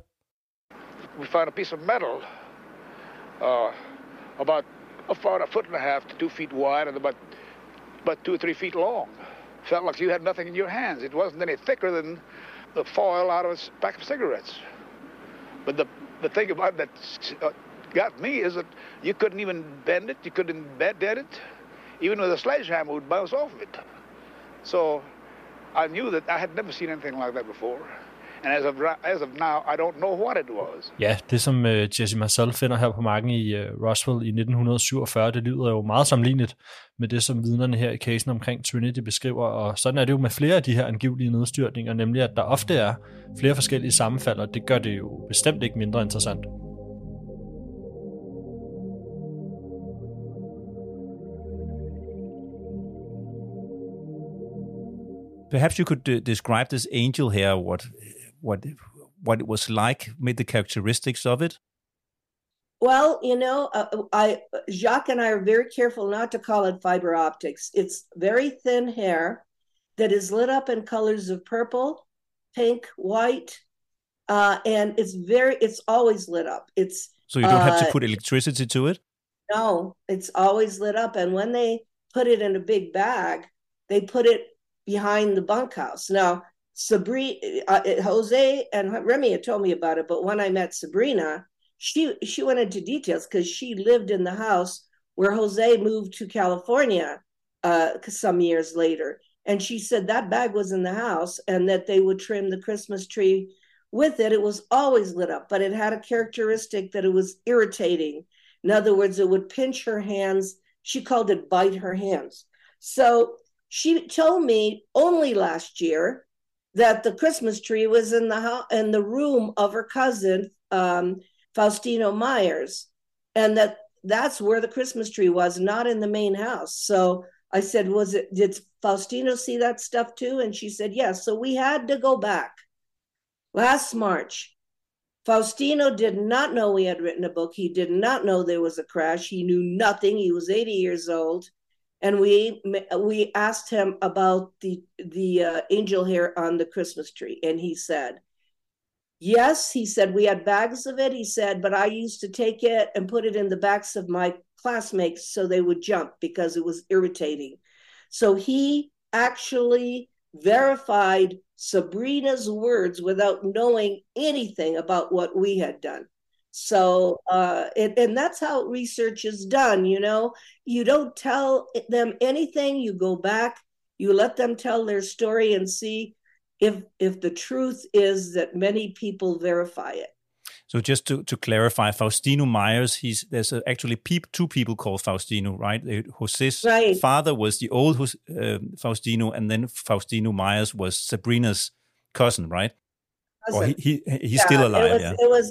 We found a piece of metal about a foot and a half to 2 feet wide and about 2 or 3 feet long. Felt like you had nothing in your hands. It wasn't any thicker than the foil out of a pack of cigarettes. But the thing about that got me is that you couldn't even bend it, you couldn't dead it. Even with a sledgehammer would bounce off of it. So I knew that I had never seen anything like that before. And as of now, I don't know what it was. Ja, det som Jesse Marcel finder her på marken i Roswell i 1947, det lyder jo meget sammenligneligt med det, som vidnerne her i casen omkring Trinity beskriver, og sådan er det jo med flere af de her angivelige nedstyrtninger, nemlig at der ofte er flere forskellige sammenfald, og det gør det jo bestemt ikke mindre interessant. Perhaps you could describe this angel here, what it was like, maybe the characteristics of it. Well, Jacques and I are very careful not to call it fiber optics. It's very thin hair that is lit up in colors of purple, pink, white, and it's always lit up. So you don't have to put electricity to it? No, it's always lit up. And when they put it in a big bag, they put it behind the bunkhouse. Now, Jose and Remy had told me about it, but when I met Sabrina, she went into details because she lived in the house where Jose moved to California some years later. And she said that bag was in the house and that they would trim the Christmas tree with it. It was always lit up, but it had a characteristic that it was irritating. In other words, it would pinch her hands. She called it bite her hands. So she told me only last year that the Christmas tree was in the room of her cousin, Faustino Meyers, and that's where the Christmas tree was, not in the main house. So I said, did Faustino see that stuff too? And she said, yes. So we had to go back. Last March, Faustino did not know we had written a book. He did not know there was a crash. He knew nothing. He was 80 years old. And we asked him about the angel hair on the Christmas tree. And he said, yes, he said, we had bags of it. He said, but I used to take it and put it in the backs of my classmates so they would jump because it was irritating. So he actually verified Sabrina's words without knowing anything about what we had done. So, and that's how research is done. You don't tell them anything. You go back, you let them tell their story and see if the truth is that many people verify it. So just to clarify, Faustino Myers, there's actually two people called Faustino, right? Jose's father was the old Faustino, and then Faustino Myers was Sabrina's cousin, right? Or he's still alive. It was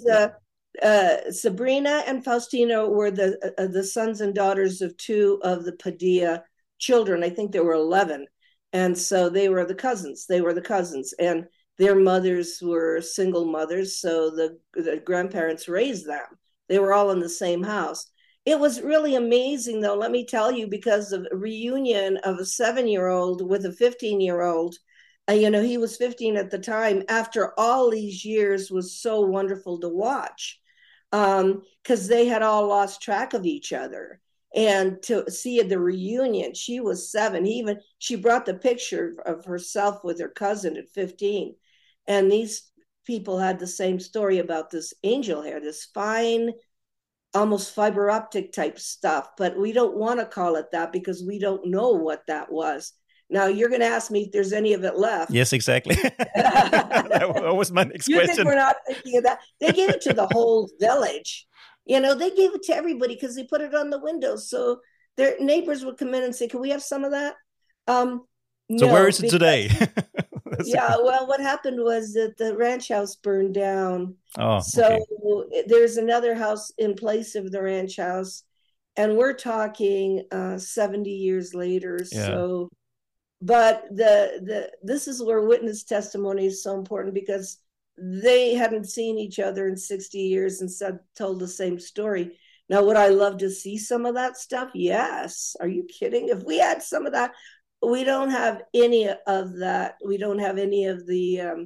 Sabrina and Faustino were the sons and daughters of two of the Padilla children. I think there were 11. And so they were the cousins. And their mothers were single mothers, so the grandparents raised them. They were all in the same house. It was really amazing, though, let me tell you, because of a reunion of a 7-year-old with a 15-year-old. He was 15 at the time. After all these years, was so wonderful to watch, because they had all lost track of each other. And to see the reunion, she was 7. She brought the picture of herself with her cousin at 15. And these people had the same story about this angel hair, this fine, almost fiber optic type stuff. But we don't want to call it that because we don't know what that was. Now, you're going to ask me if there's any of it left. Yes, exactly. That was my next question. Think we're not thinking of that? They gave it to the whole village. They gave it to everybody because they put it on the windows. So their neighbors would come in and say, "Can we have some of that?" So where is it today? Well, what happened was that the ranch house burned down. Oh, so okay. There's another house in place of the ranch house, and we're talking 70 years later. Yeah. So, but this is where witness testimony is so important, because they hadn't seen each other in 60 years and told the same story. Now, would I love to see some of that stuff? Yes. Are you kidding? If we had some of that, we don't have any of that. We don't have any of the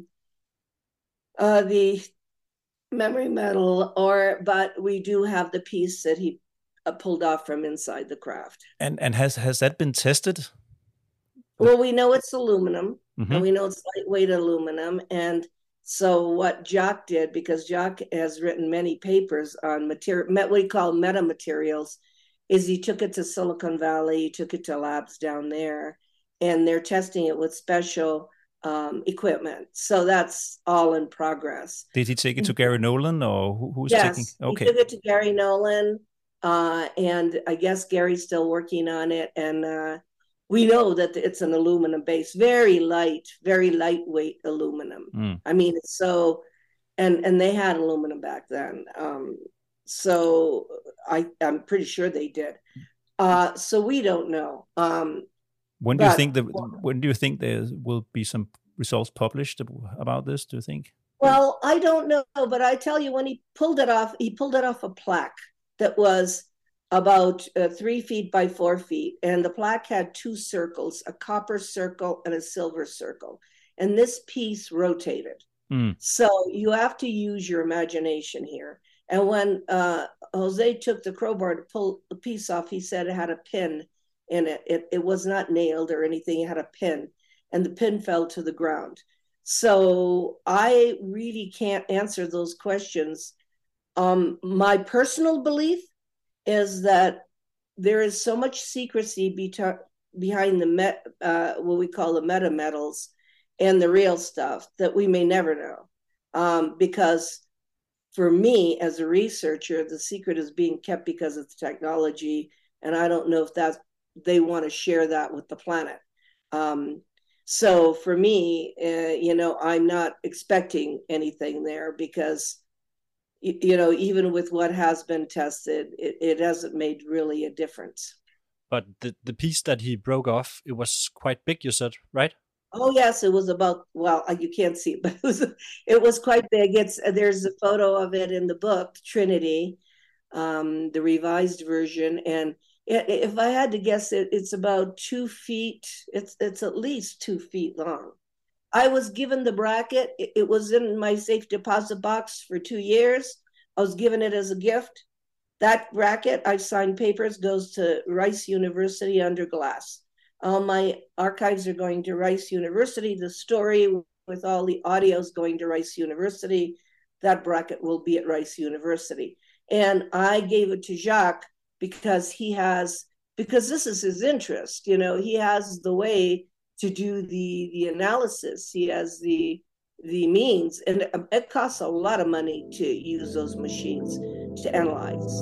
memory metal, but we do have the piece that he pulled off from inside the craft. And has that been tested? Well, we know it's aluminum, Mm-hmm. and we know it's lightweight aluminum. And so what Jacques did, because Jacques has written many papers on what we call metamaterials, is he took it to Silicon Valley, he took it to labs down there, and they're testing it with special equipment. So that's all in progress. Did he take it to Gary Nolan, or who's yes, taking? Okay, he took it to Gary Nolan, and I guess Gary's still working on it. And we know that it's an aluminum base, very lightweight aluminum. I mean, it's so, and they had aluminum back then. So I'm pretty sure they did. So we don't know. When do you think there will be some results published about this? Do you think? Well, I don't know, but I tell you, when he pulled it off a plaque that was about 3 feet by 4 feet, and the plaque had 2 circles, a copper circle and a silver circle, and this piece rotated. So you have to use your imagination here. And when Jose took the crowbar to pull the piece off, he said it had a pin in it. It was not nailed or anything. It had a pin, and the pin fell to the ground. So I really can't answer those questions. My personal belief is that there is so much secrecy behind what we call the meta metals and the real stuff that we may never know. Because for me, as a researcher, the secret is being kept because of the technology, and I don't know if they want to share that with the planet. So for me, I'm not expecting anything there, because even with what has been tested, it hasn't made really a difference. But the piece that he broke off, it was quite big, you said, right? Oh yes, it was about, well, you can't see it, but it was quite big. There's a photo of it in the book, Trinity, the revised version, and if I had to guess, it's about 2 feet. It's at least 2 feet long. I was given the bracket. It was in my safe deposit box for 2 years. I was given it as a gift. That bracket, I signed papers, goes to Rice University under glass. All my archives are going to Rice University. The story with all the audios going to Rice University, that bracket will be at Rice University. And I gave it to Jacques because this is his interest. He has the way to do the analysis. He has the means, and it costs a lot of money to use those machines to analyze.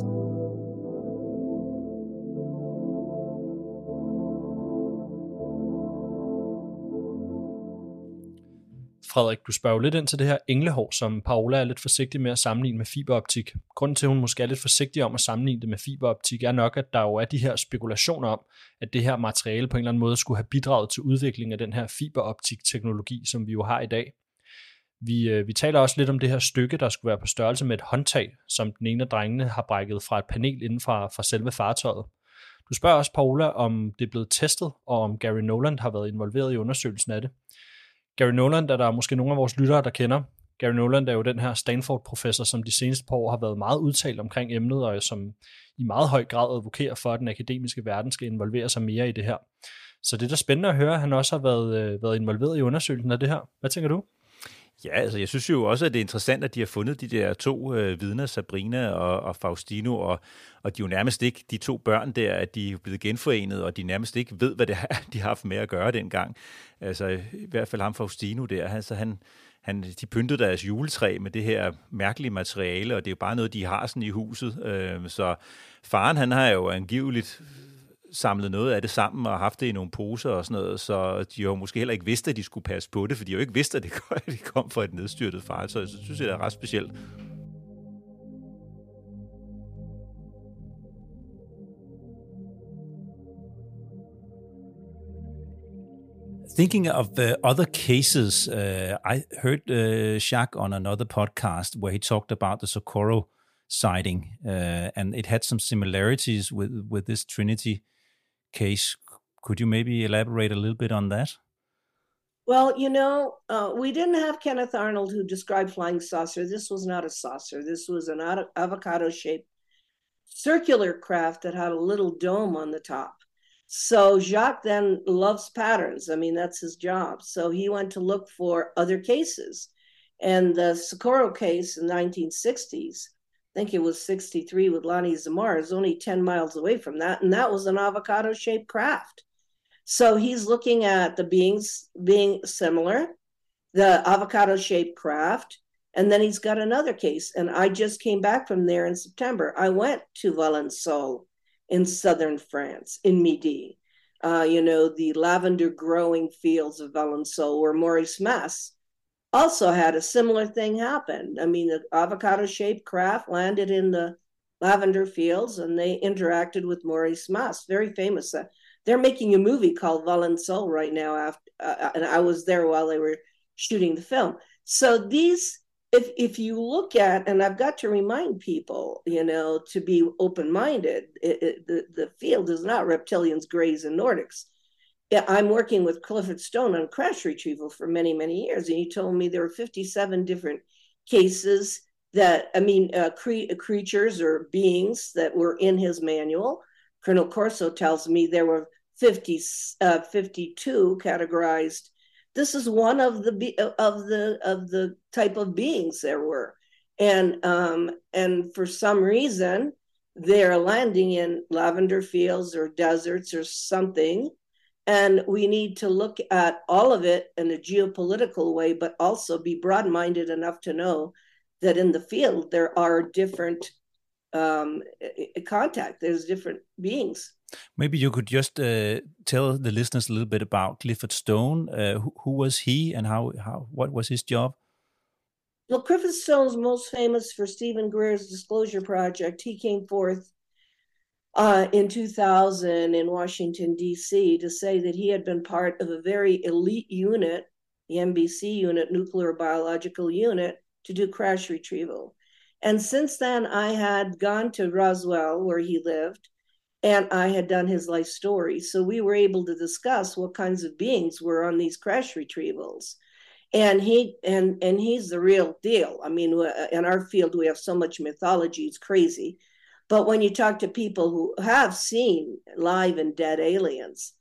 Frederik, du spørger jo lidt ind til det her englehår, som Paola er lidt forsigtig med at sammenligne med fiberoptik. Grunden til, at hun måske er lidt forsigtig om at sammenligne det med fiberoptik, er nok, at der jo er de her spekulationer om, at det her materiale på en eller anden måde skulle have bidraget til udviklingen af den her fiberoptik-teknologi, som vi jo har i dag. Vi taler også lidt om det her stykke, der skulle være på størrelse med et håndtag, som den ene af drengene har brækket fra et panel inden fra selve fartøjet. Du spørger også, Paola, om det er blevet testet, og om Gary Noland har været involveret i undersøgelsen af det. Gary Noland er der måske nogle af vores lyttere, der kender. Gary Noland er jo den her Stanford-professor, som de seneste par år har været meget udtalt omkring emnet, og som i meget høj grad advokerer for, at den akademiske verden skal involvere sig mere i det her. Så det er da spændende at høre, at han også har været involveret i undersøgelsen af det her. Hvad tænker du? Ja, altså jeg synes jo også, at det er interessant, at de har fundet de der to vidner, Sabrina og Faustino, og de er jo nærmest ikke, de to børn der, at de er blevet genforenet, og de nærmest ikke ved, hvad det er, de har haft med at gøre dengang. Altså i hvert fald ham Faustino der, altså de pyntede deres juletræ med det her mærkelige materiale, og det er jo bare noget, de har sådan i huset. Så faren, han har jo angiveligt samlet noget af det sammen og haft det i nogle poser og sådan noget, så de har jo måske heller ikke vidst, at de skulle passe på det, for de har jo ikke vidst, at det kom fra et nedstyrtet fartøj, så synes jeg, det er ret specielt. Thinking of other cases, I heard Jacques on another podcast where he talked about the Socorro sighting, and it had some similarities with this Trinity case. Could you maybe elaborate a little bit on that? Well, we didn't have Kenneth Arnold who described flying saucer. This was not a saucer. This was an avocado-shaped circular craft that had a little dome on the top. So Jacques then loves patterns. I mean, that's his job. So he went to look for other cases. And the Socorro case in the 1960s, I think it was 63 with Lonnie Zamar, is only 10 miles away from that. And that was an avocado-shaped craft. So he's looking at the beings being similar, the avocado-shaped craft, and then he's got another case. And I just came back from there in September. I went to Valençol in southern France, in Midi. The lavender growing fields of Valençol, where Maurice Mas also had a similar thing happen. I mean, the avocado-shaped craft landed in the lavender fields, and they interacted with Maurice Mas, very famous. They're making a movie called Valençol right now, and I was there while they were shooting the film. So these, if you look at, and I've got to remind people, to be open-minded, the field is not reptilians, greys, and Nordics. I'm working with Clifford Stone on crash retrieval for many, many years, and he told me there were 57 different cases that, creatures or beings that were in his manual. Colonel Corso tells me there were 52 categorized. This is one of the type of beings there were, and for some reason they're landing in lavender fields or deserts or something. And we need to look at all of it in a geopolitical way, but also be broad-minded enough to know that in the field there are different contact. There's different beings. Maybe you could just tell the listeners a little bit about Clifford Stone. Who was he, and what was his job? Well, Clifford Stone's most famous for Stephen Greer's Disclosure Project. He came forth in 2000 in Washington, D.C. to say that he had been part of a very elite unit, the NBC unit, Nuclear Biological Unit, to do crash retrieval. And since then, I had gone to Roswell, where he lived, and I had done his life story. So we were able to discuss what kinds of beings were on these crash retrievals. And he's the real deal. I mean, in our field, we have so much mythology, it's crazy. But when you talk to people who have seen live and dead aliens,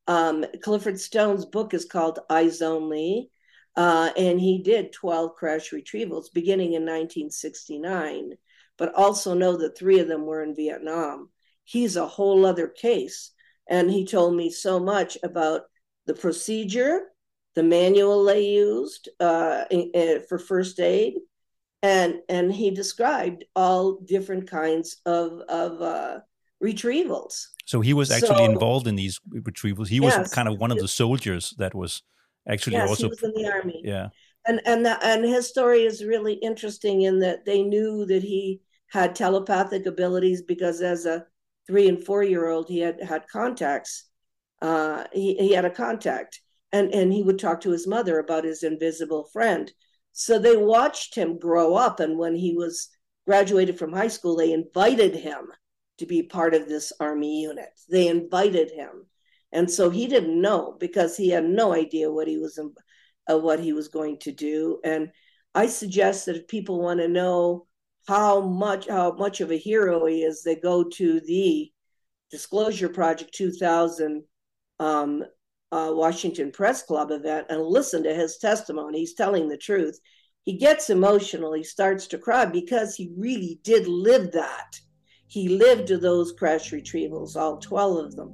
Clifford Stone's book is called Eyes Only, and he did 12 crash retrievals beginning in 1969, but also know that 3 of them were in Vietnam. He's a whole other case, and he told me so much about the procedure, the manual they used for first aid, and he described all different kinds of retrievals. So he was actually involved in these retrievals. He was kind of one of the soldiers that was actually also. He was in the army. Yeah, and his story is really interesting in that they knew that he had telepathic abilities because as a 3 and 4-year-old he had contacts. He had a contact, and he would talk to his mother about his invisible friend. So they watched him grow up, and when he was graduated from high school, they invited him to be part of this army unit. They invited him. And so he didn't know because he had no idea what he was going to do. And I suggest that if people want to know how much of a hero he is, they go to the Disclosure Project 2000 Washington Press Club event and listen to his testimony. He's telling the truth. He gets emotional. He starts to cry because he really did live that. He lived those crash retrievals, all 12 of them.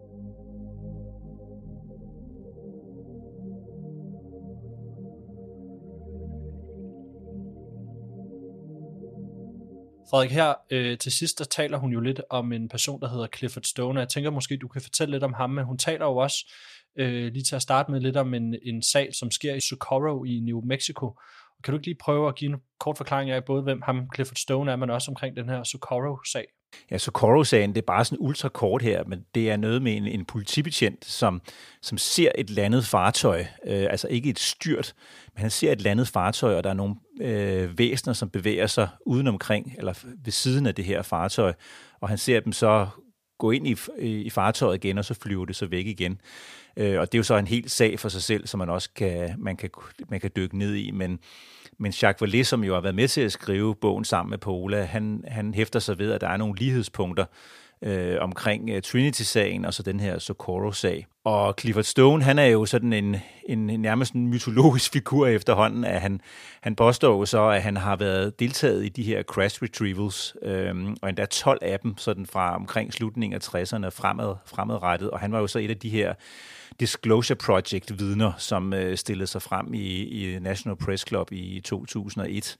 Frederik, her til sidst, der taler hun jo lidt om en person, der hedder Clifford Stone, og jeg tænker måske, du kan fortælle lidt om ham, men hun taler jo også lige til at starte med lidt om en sag, som sker i Socorro i New Mexico. Kan du ikke lige prøve at give en kort forklaring af både, hvem ham Clifford Stone er, men også omkring den her Socorro-sag? Ja, Socorro-sagen, det er bare sådan ultra kort her, men det er noget med en politibetjent, som ser et landet fartøj, altså ikke et styrt, men han ser et landet fartøj, og der er nogle væsener, som bevæger sig udenomkring, eller ved siden af det her fartøj, og han ser dem så gå ind i fartøjet igen, og så flyver det så væk igen. Og det er jo så en hel sag for sig selv, som man også kan dykke ned i, men Jacques Vallée, som jo har været med til at skrive bogen sammen med Paola, han hæfter sig ved, at der er nogle lighedspunkter omkring Trinity-sagen og så den her Socorro-sag. Og Clifford Stone, han er jo sådan en nærmest en mytologisk figur efterhånden, at han påstår jo så, at han har været deltaget i de her crash retrievals, og endda 12 af dem, sådan fra omkring slutningen af 60'erne fremadrettet, og han var jo så et af de her Disclosure Project-vidner, som stillede sig frem i National Press Club i 2001.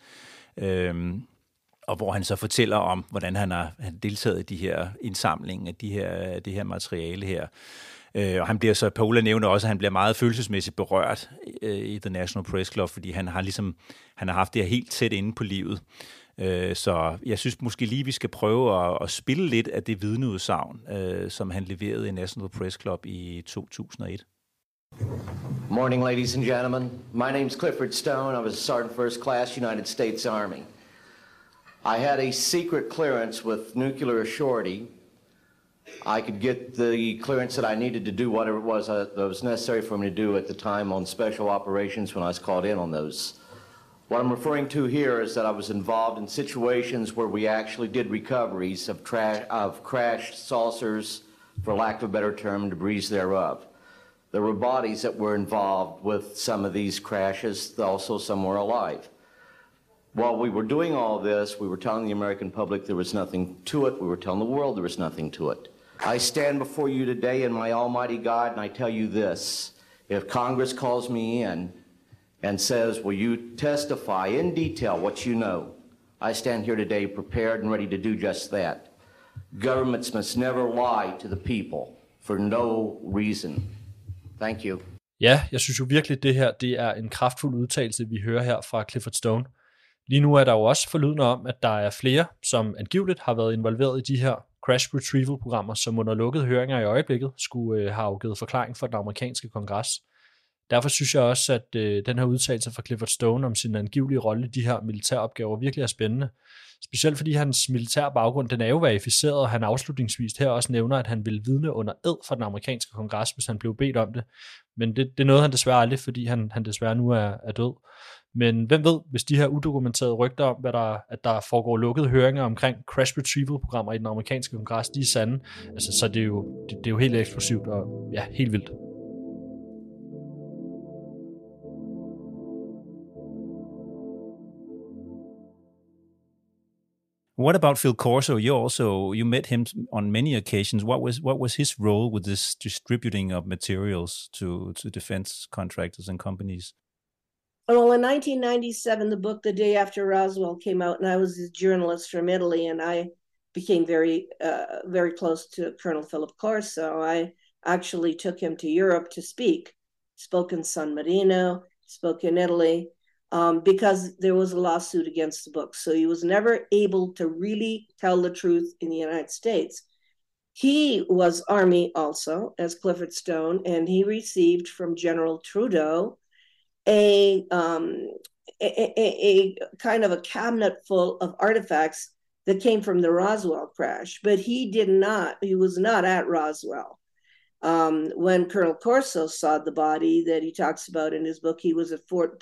Og hvor han så fortæller om, hvordan han har deltaget i de her indsamlinger af det her materiale her. Og han bliver så, Paola nævner også, at han bliver meget følelsesmæssigt berørt i The National Press Club, fordi han har haft det her helt tæt inde på livet. Så jeg synes måske lige, vi skal prøve at spille lidt af det vidneudsagn, som han leverede i National Press Club i 2001. Morning, ladies and gentlemen. My name's Clifford Stone. I was a Sergeant First Class, United States Army. I had a secret clearance with nuclear surety. I could get the clearance that I needed to do whatever it was that was necessary for me to do at the time on special operations when I was called in on those. What I'm referring to here is that I was involved in situations where we actually did recoveries of crashed saucers, for lack of a better term, debris thereof. There were bodies that were involved with some of these crashes, also some were alive. While we were doing all this, we were telling the American public there was nothing to it. We were telling the world there was nothing to it. I stand before you today in my almighty God, and I tell you this. If Congress calls me in and says, will you testify in detail what you know, I stand here today prepared and ready to do just that. Governments must never lie to the people for no reason. Thank you. Ja, jeg synes jo virkelig, det her det er en kraftfuld udtalelse, vi hører her fra Clifford Stone. Lige nu er der jo også forlydende om, at der er flere, som angiveligt har været involveret i de her crash retrieval-programmer, som under lukkede høringer i øjeblikket skulle have afgivet forklaring for den amerikanske kongres. Derfor synes jeg også, at den her udtalelse fra Clifford Stone om sin angivelige rolle i de her militæropgaver virkelig er spændende. Specielt fordi hans militære baggrund, den er jo verificeret, og han afslutningsvis her også nævner, at han ville vidne under ed for den amerikanske kongres, hvis han blev bedt om det. Men det nåede han desværre aldrig, fordi han desværre nu er død. Men hvem ved, hvis de her udokumenterede rygter om, at der foregår lukkede høringer omkring crash retrieval-programmer i den amerikanske kongres, de er sande, altså, så det er jo helt eksplosivt og ja, helt vildt. What about Phil Corso? You met him on many occasions. What was his role with this distributing of materials to defense contractors and companies? Well, in 1997, the book The Day After Roswell came out, and I was a journalist from Italy, and I became very close to Colonel Philip Corso. I actually took him to Europe to speak. Spoke in San Marino, spoke in Italy, because there was a lawsuit against the book. So he was never able to really tell the truth in the United States. He was Army also, as Clifford Stone, and he received from General Trudeau a kind of a cabinet full of artifacts that came from the Roswell crash, but he was not at Roswell. When Colonel Corso saw the body that he talks about in his book, he was at Fort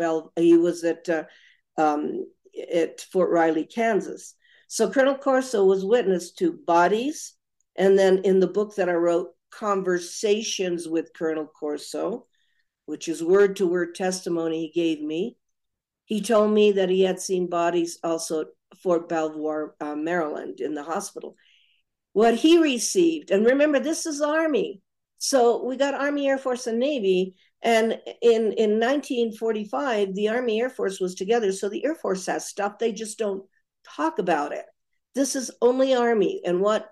Riley, Kansas. So Colonel Corso was witness to bodies, and then in the book that I wrote, Conversations with Colonel Corso, which is word-to-word testimony he gave me. He told me that he had seen bodies also at Fort Belvoir, Maryland, in the hospital. What he received, and remember, this is Army. So we got Army, Air Force, and Navy, and in 1945, the Army Air Force was together, so the Air Force has stuff, they just don't talk about it. This is only Army, and what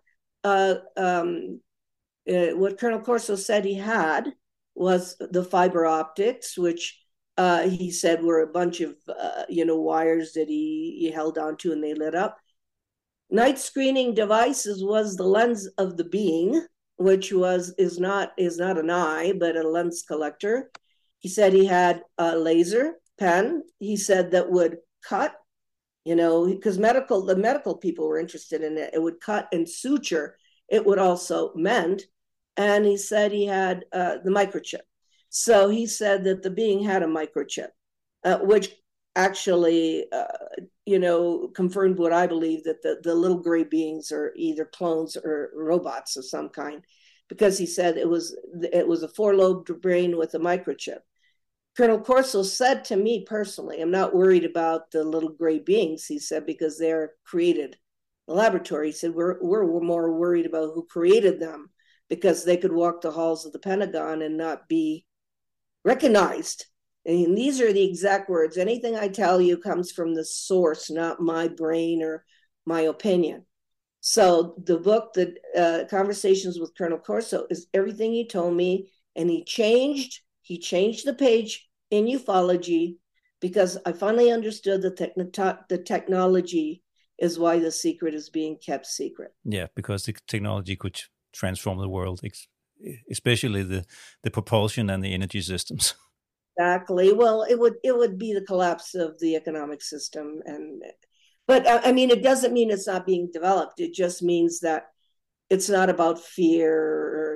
Colonel Corso said he had was the fiber optics, which he said were a bunch of wires that he held onto and they lit up. Night screening devices was the lens of the being, which is not an eye but a lens collector. He said he had a laser pen. He said that would cut, because the medical people were interested in it. It would cut and suture. It would also mend. And he said he had the microchip. So he said that the being had a microchip, which actually, confirmed what I believe, that the little gray beings are either clones or robots of some kind, because he said it was a four-lobed brain with a microchip. Colonel Corso said to me personally, I'm not worried about the little gray beings, he said, because they're created in the laboratory. He said, we're more worried about who created them, because they could walk the halls of the Pentagon and not be recognized. And these are the exact words. Anything I tell you comes from the source, not my brain or my opinion. So the book, the Conversations with Colonel Corso, is everything he told me, and he changed the page in ufology, because I finally understood that the technology is why the secret is being kept secret. Yeah, because the technology could transform the world, especially the propulsion and the energy systems. Exactly. Well, it would be the collapse of the economic system, but I mean, it doesn't mean it's not being developed. It just means that it's not about fear, or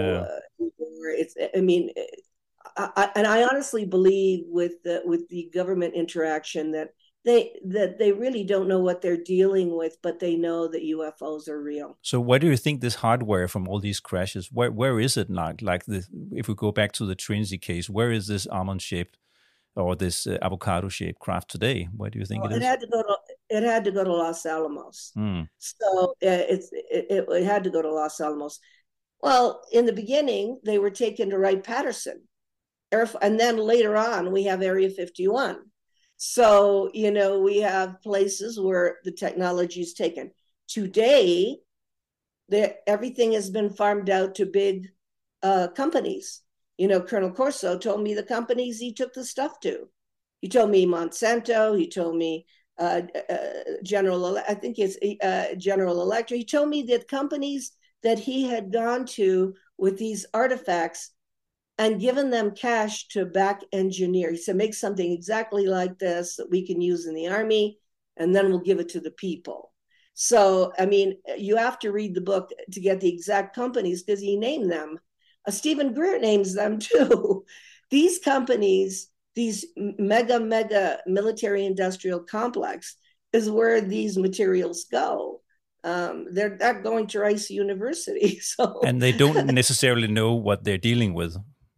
I honestly believe with the government interaction that they really don't know what they're dealing with, but they know that UFOs are real. So where do you think this hardware from all these crashes, where is it now? Like if we go back to the Trinity case, where is this almond-shaped or this avocado-shaped craft today? Where do you think it is? It had to go to Los Alamos. So it had to go to Los Alamos. Well, in the beginning, they were taken to Wright-Patterson. And then later on, we have Area 51. So, we have places where the technology is taken. Today, everything has been farmed out to big companies. Colonel Corso told me the companies he took the stuff to. He told me Monsanto. He told me General Electric. He told me that companies that he had gone to with these artifacts and given them cash to back engineer. He said, make something exactly like this that we can use in the Army, and then we'll give it to the people. So, I mean, you have to read the book to get the exact companies because he named them. Stephen Greer names them too. These companies, these mega military industrial complex is where these materials go. They're not going to Rice University. And they don't necessarily know what they're dealing with.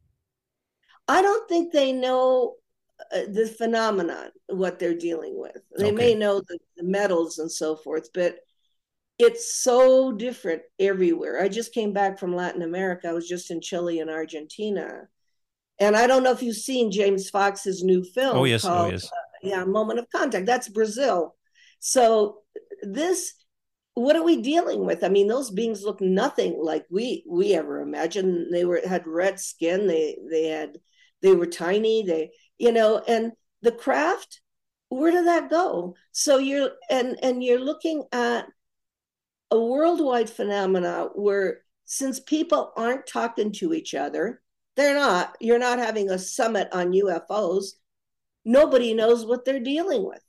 I don't think they know the phenomenon, what they're dealing with. They may know the metals and so forth, but it's so different everywhere. I just came back from Latin America. I was just in Chile and Argentina. And I don't know if you've seen James Fox's new film called Moment of Contact. That's Brazil. So what are we dealing with? I mean, those beings look nothing like we ever imagined. They had red skin. They were tiny. And the craft, where did that go? So you're looking at a worldwide phenomena where, since people aren't talking to each other, you're not having a summit on UFOs. Nobody knows what they're dealing with.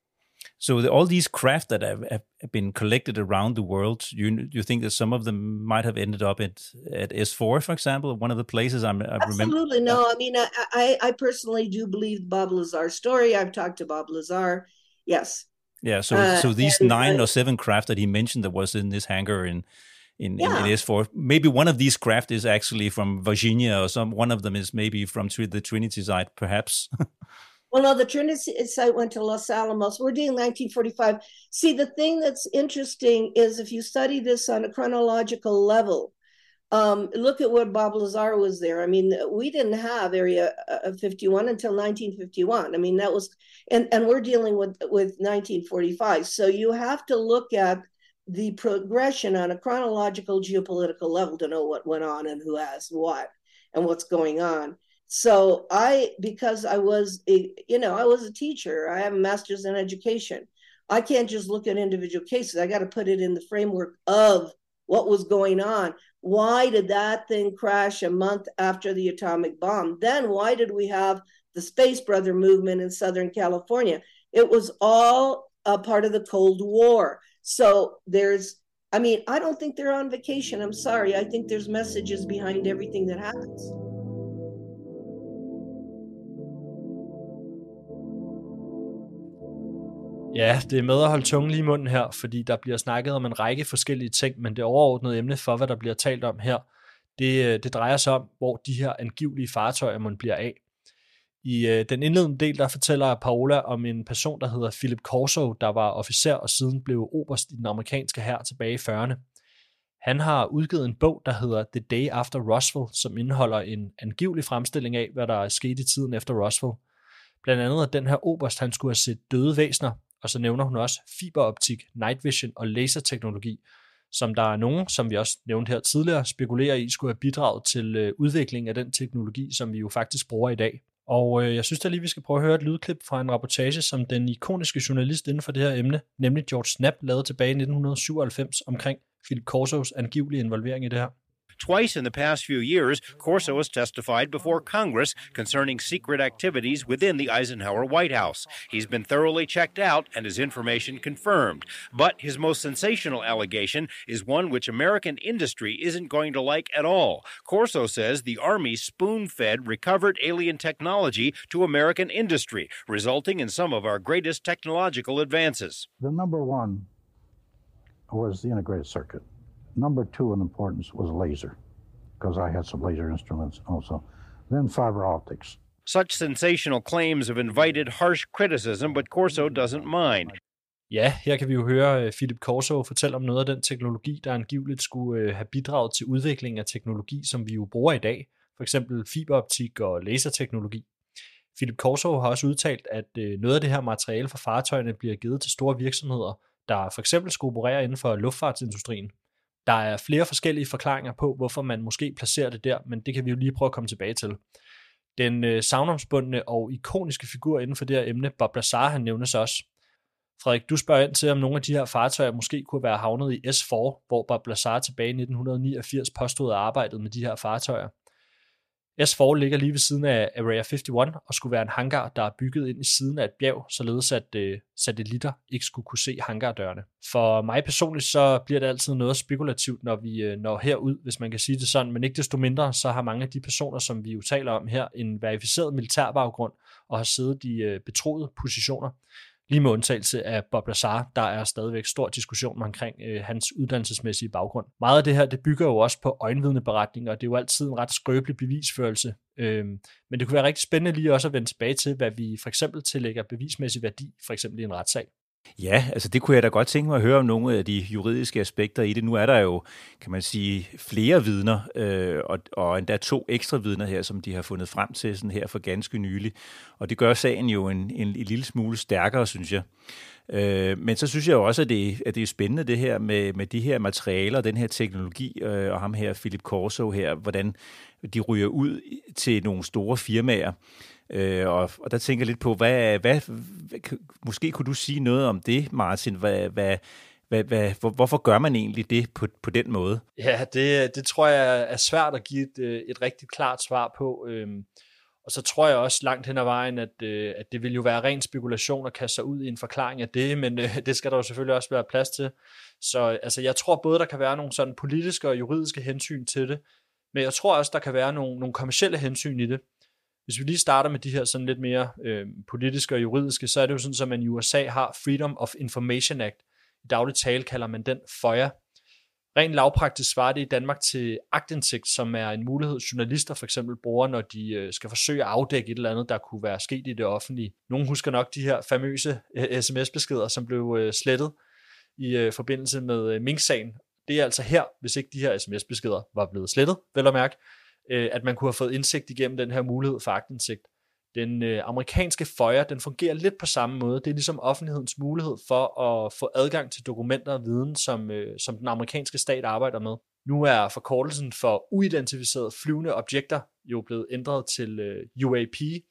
So all these craft that have been collected around the world, you think that some of them might have ended up at S4, for example, one of the places I remember? Absolutely. No, I mean, I personally do believe Bob Lazar's story. I've talked to Bob Lazar. Yes. Yeah, so these 9 or 7 craft that he mentioned that was in this hangar in S4, maybe one of these craft is actually from Virginia, or one of them is maybe from the Trinity site, perhaps. Well, no, the Trinity site went to Los Alamos. We're doing 1945. See, the thing that's interesting is if you study this on a chronological level, look at what Bob Lazar was there. I mean, we didn't have Area 51 until 1951. I mean, that was, and we're dealing with 1945. So you have to look at the progression on a chronological geopolitical level to know what went on and who has what and what's going on. So because I was a teacher, I have a master's in education. I can't just look at individual cases. I got to put it in the framework of what was going on. Why did that thing crash a month after the atomic bomb? Then why did we have the Space Brother movement in Southern California? It was all a part of the Cold War. So I don't think they're on vacation. I'm sorry. I think there's messages behind everything that happens. Ja, det er med at holde tungen lige i munden her, fordi der bliver snakket om en række forskellige ting, men det overordnede emne for, hvad der bliver talt om her, det drejer sig om, hvor de her angivelige fartøjer man bliver af. I den indledende del, der fortæller Paola om en person, der hedder Philip Corso, der var officer og siden blev oberst i den amerikanske hær tilbage i 40'erne. Han har udgivet en bog, der hedder The Day After Roswell, som indeholder en angivelig fremstilling af, hvad der er sket i tiden efter Roswell. Blandt andet, at den her oberst, han skulle have set døde væsener, og så nævner hun også fiberoptik, night vision og laserteknologi, som der er nogen, som vi også nævnte her tidligere, spekulerer i skulle have bidraget til udviklingen af den teknologi, som vi jo faktisk bruger i dag. Og jeg synes da lige, vi skal prøve at høre et lydklip fra en rapportage, som den ikoniske journalist inden for det her emne, nemlig George Knapp, lavede tilbage i 1997 omkring Philip Corsos angivelige involvering i det her. Twice in the past few years, Corso has testified before Congress concerning secret activities within the Eisenhower White House. He's been thoroughly checked out and his information confirmed. But his most sensational allegation is one which American industry isn't going to like at all. Corso says the Army spoon-fed recovered alien technology to American industry, resulting in some of our greatest technological advances. The number one was the integrated circuit. Number two in importance was laser, because I had some laser instruments also. Then fiber optics. Such sensational claims have invited harsh criticism, but Corso doesn't mind. Ja, her kan vi jo høre Philip Corso fortælle om noget af den teknologi, der angiveligt skulle have bidraget til udviklingen af teknologi, som vi jo bruger i dag. For eksempel fiberoptik og laserteknologi. Philip Corso har også udtalt, at noget af det her materiale fra fartøjerne bliver givet til store virksomheder, der for eksempel skulle operere inden for luftfartsindustrien. Der er flere forskellige forklaringer på, hvorfor man måske placerer det der, men det kan vi jo lige prøve at komme tilbage til. Den savnomsbundne og ikoniske figur inden for det her emne, Bob Lazar, han nævnes også. Frederik, du spørger ind til, om nogle af de her fartøjer måske kunne være havnet i S4, hvor Bob Lazar tilbage i 1989 påstod at arbejdet med de her fartøjer. S4 ligger lige ved siden af Area 51 og skulle være en hangar, der er bygget ind i siden af et bjerg, således at satellitter ikke skulle kunne se hangardørene. For mig personligt, så bliver det altid noget spekulativt, når vi når herud, hvis man kan sige det sådan, men ikke desto mindre, så har mange af de personer, som vi jo taler om her, en verificeret militær baggrund og har siddet i betroede positioner. Lige med undtagelse af Bob Lazar, der er stadigvæk stor diskussion omkring hans uddannelsesmæssige baggrund. Meget af det her, det bygger jo også på øjenvidneberetninger, og det er jo altid en ret skrøbelig bevisførelse. Men det kunne være rigtig spændende lige også at vende tilbage til, hvad vi for eksempel tillægger bevismæssig værdi, for eksempel i en retssag. Ja, altså det kunne jeg da godt tænke mig at høre om nogle af de juridiske aspekter i det. Nu er der jo, kan man sige, flere vidner, og endda 2 ekstra vidner her, som de har fundet frem til sådan her for ganske nylig. Og det gør sagen jo en lille smule stærkere, synes jeg. Men så synes jeg jo også, at det er spændende det her med de her materialer, den her teknologi, og ham her, Philip Corso her, hvordan de ryger ud til nogle store firmaer. Og der tænker jeg lidt på, hvad måske kunne du sige noget om det, Martin? Hvorfor gør man egentlig det på den måde? Ja, det tror jeg er svært at give et rigtig klart svar på. Og så tror jeg også langt hen ad vejen, at det vil jo være ren spekulation at kaste sig ud i en forklaring af det, men det skal der jo selvfølgelig også være plads til. Så altså, jeg tror både, der kan være nogle sådan politiske og juridiske hensyn til det, men jeg tror også, der kan være nogle kommercielle hensyn i det. Hvis vi lige starter med de her sådan lidt mere politiske og juridiske, så er det jo sådan, at man i USA har Freedom of Information Act. I daglig tale kalder man den FOIA. Rent lavpraktisk svarer det i Danmark til aktindsigt, som er en mulighed, journalister for eksempel bruger, når de skal forsøge at afdække et eller andet, der kunne være sket i det offentlige. Nogle husker nok de her famøse sms-beskeder, som blev slettet i forbindelse med Mink-sagen. Det er altså her, hvis ikke de her sms-beskeder var blevet slettet, vel at mærke, at man kunne have fået indsigt igennem den her mulighed for aktindsigt. Den amerikanske FOIA, den fungerer lidt på samme måde. Det er ligesom offentlighedens mulighed for at få adgang til dokumenter og viden, som den amerikanske stat arbejder med. Nu er forkortelsen for uidentificerede flyvende objekter jo blevet ændret til UAP,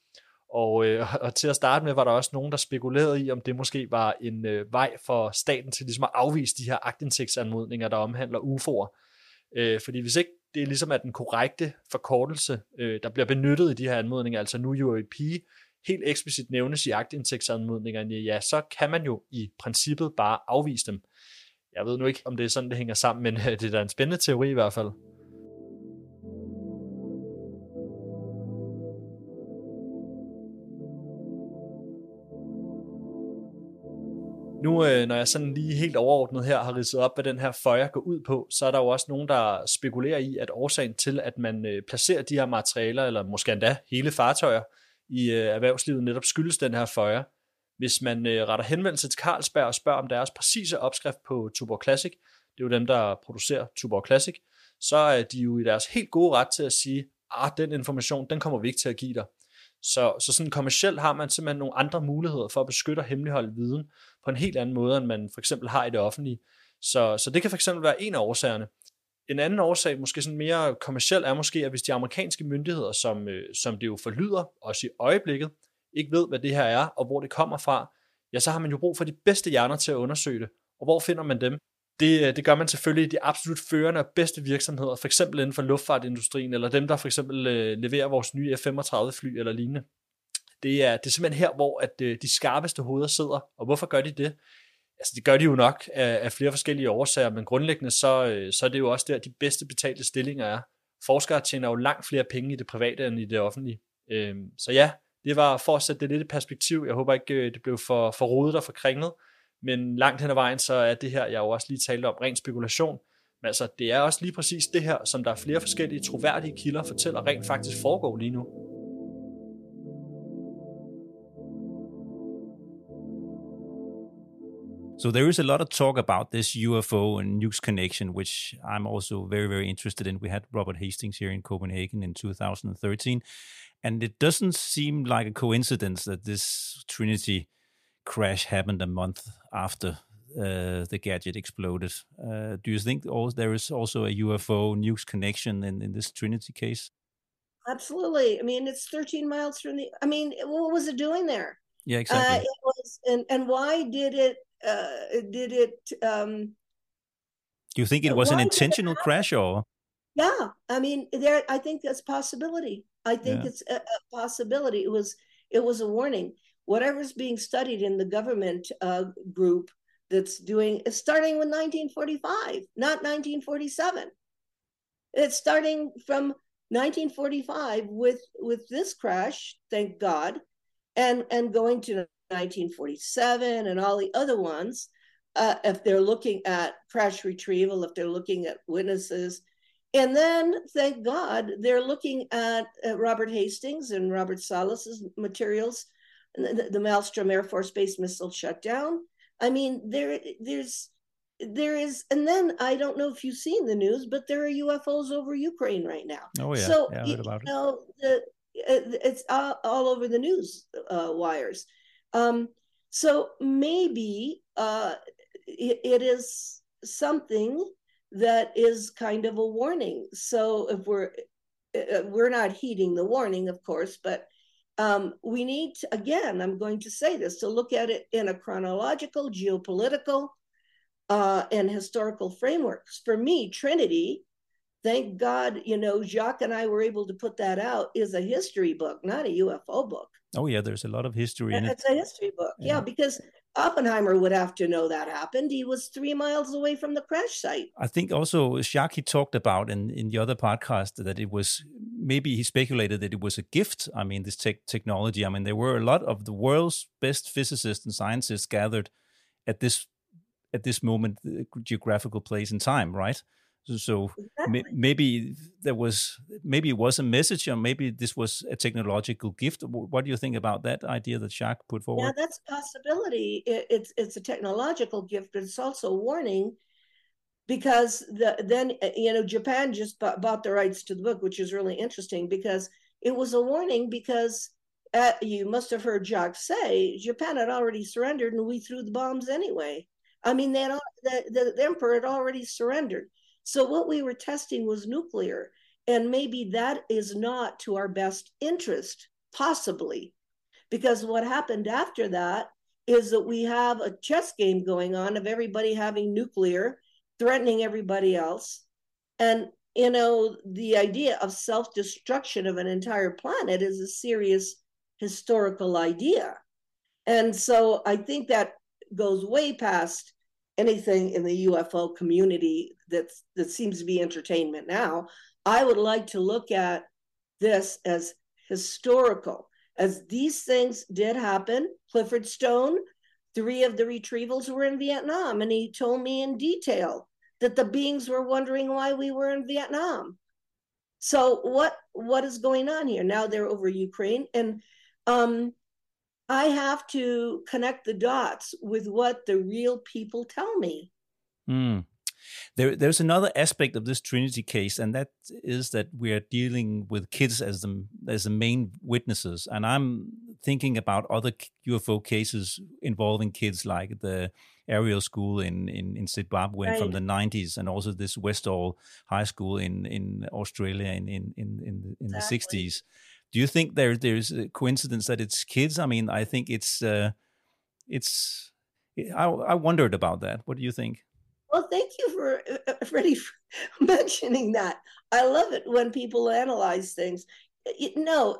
og til at starte med var der også nogen, der spekulerede i, om det måske var en vej for staten til ligesom at afvise de her aktindsigtsanmodninger, der omhandler UFO'er. Fordi hvis ikke det er ligesom at den korrekte forkortelse, der bliver benyttet i de her anmodninger, altså nu UAP, helt eksplicit nævnes i aktindsigtsanmodningerne, ja, så kan man jo i princippet bare afvise dem. Jeg ved nu ikke, om det er sådan, det hænger sammen, men det er da en spændende teori i hvert fald. Nu, når jeg sådan lige helt overordnet her har ridset op, hvad den her FOIA går ud på, så er der jo også nogen, der spekulerer i, at årsagen til, at man placerer de her materialer, eller måske endda hele fartøjer i erhvervslivet, netop skyldes den her FOIA. Hvis man retter henvendelse til Carlsberg og spørger om deres præcise opskrift på Tuborg Classic, det er jo dem, der producerer Tuborg Classic, så er de jo i deres helt gode ret til at sige, den information, den kommer vi ikke til at give dig. Så sådan kommercielt har man simpelthen nogle andre muligheder for at beskytte og hemmeligholde viden på en helt anden måde, end man for eksempel har i det offentlige. Så det kan for eksempel være en af årsagerne. En anden årsag, måske sådan mere kommerciel, er måske, at hvis de amerikanske myndigheder, som det jo forlyder, også i øjeblikket, ikke ved, hvad det her er, og hvor det kommer fra, ja, så har man jo brug for de bedste hjerner til at undersøge det. Og hvor finder man dem? Det gør man selvfølgelig i de absolut førende og bedste virksomheder, for eksempel inden for luftfartindustrien, eller dem, der for eksempel leverer vores nye F-35-fly eller lignende. Det er simpelthen her, hvor at de skarpeste hoveder sidder. Og hvorfor gør de det? Altså, det gør de jo nok af flere forskellige årsager, men grundlæggende så er det jo også der, de bedste betalte stillinger er. Forskere tjener jo langt flere penge i det private end i det offentlige. Så ja, det var for at sætte det lidt i perspektiv. Jeg håber ikke, det blev for rodet og for kringlet. Men langt hen ad vejen, så er det her, jeg jo også lige talte om, ren spekulation. Men altså, det er også lige præcis det her, som der er flere forskellige troværdige kilder fortæller rent faktisk foregår lige nu. So there is a lot of talk about this UFO and nukes connection, which I'm also very, very interested in. We had Robert Hastings here in Copenhagen in 2013, and it doesn't seem like a coincidence that this Trinity crash happened a month after the gadget exploded. Do you think there is also a UFO nukes connection in this Trinity case? Absolutely. I mean, it's 13 miles from the... I mean, what was it doing there? Yeah, exactly. It was, and why did it... Do you think it was an intentional crash or? Yeah, I mean, I think that's possibility. I think it's a possibility. It was a warning. Whatever's being studied in the government group that's doing, it's starting with 1945, not 1947. It's starting from 1945 with this crash, thank God, and going to 1947 and all the other ones. If they're looking at crash retrieval, if they're looking at witnesses. And then, thank God, they're looking at Robert Hastings and Robert Salas's materials, the Maelstrom Air Force Base missile shutdown. I mean, there is, and then I don't know if you've seen the news, but there are UFOs over Ukraine right now. Oh yeah, so I heard about it. It's all over the news wires. So maybe it is something that is kind of a warning. So if we're not heeding the warning, of course, but we need to, again, I'm going to say this, to look at it in a chronological, geopolitical, and historical frameworks. For me, Trinity, thank God, Jacques and I were able to put that out, is a history book, not a UFO book. Oh yeah, there's a lot of history in it. It's a history book, yeah, because Oppenheimer would have to know that happened. He was 3 miles away from the crash site. I think also Jacques talked about in the other podcast that it was, maybe he speculated that it was a gift. I mean, this technology. I mean, there were a lot of the world's best physicists and scientists gathered at this moment, geographical place and time, right? So exactly. maybe it was a message, or maybe this was a technological gift. What do you think about that idea that Jacques put forward? Yeah, that's a possibility. It's a technological gift, but it's also a warning, because then Japan just bought the rights to the book, which is really interesting, because it was a warning, because you must have heard Jacques say Japan had already surrendered and we threw the bombs anyway. I mean, the emperor had already surrendered. So what we were testing was nuclear, and maybe that is not to our best interest, possibly, because what happened after that is that we have a chess game going on of everybody having nuclear, threatening everybody else. And, the idea of self-destruction of an entire planet is a serious historical idea. And so I think that goes way past anything in the UFO community that seems to be entertainment now. I would like to look at this as historical, as these things did happen. Clifford Stone, 3 of the retrievals were in Vietnam, and he told me in detail that the beings were wondering why we were in Vietnam. So what is going on here? Now they're over Ukraine, and I have to connect the dots with what the real people tell me. There's another aspect of this Trinity case, and that is that we are dealing with kids as the main witnesses. And I'm thinking about other UFO cases involving kids, like the Ariel School in Zimbabwe from the 90s, and also this Westall High School in Australia in the 60s. Do you think there's a coincidence that it's kids? I mean, I think I wondered about that. What do you think? Well, thank you Freddie, for mentioning that. I love it when people analyze things. No,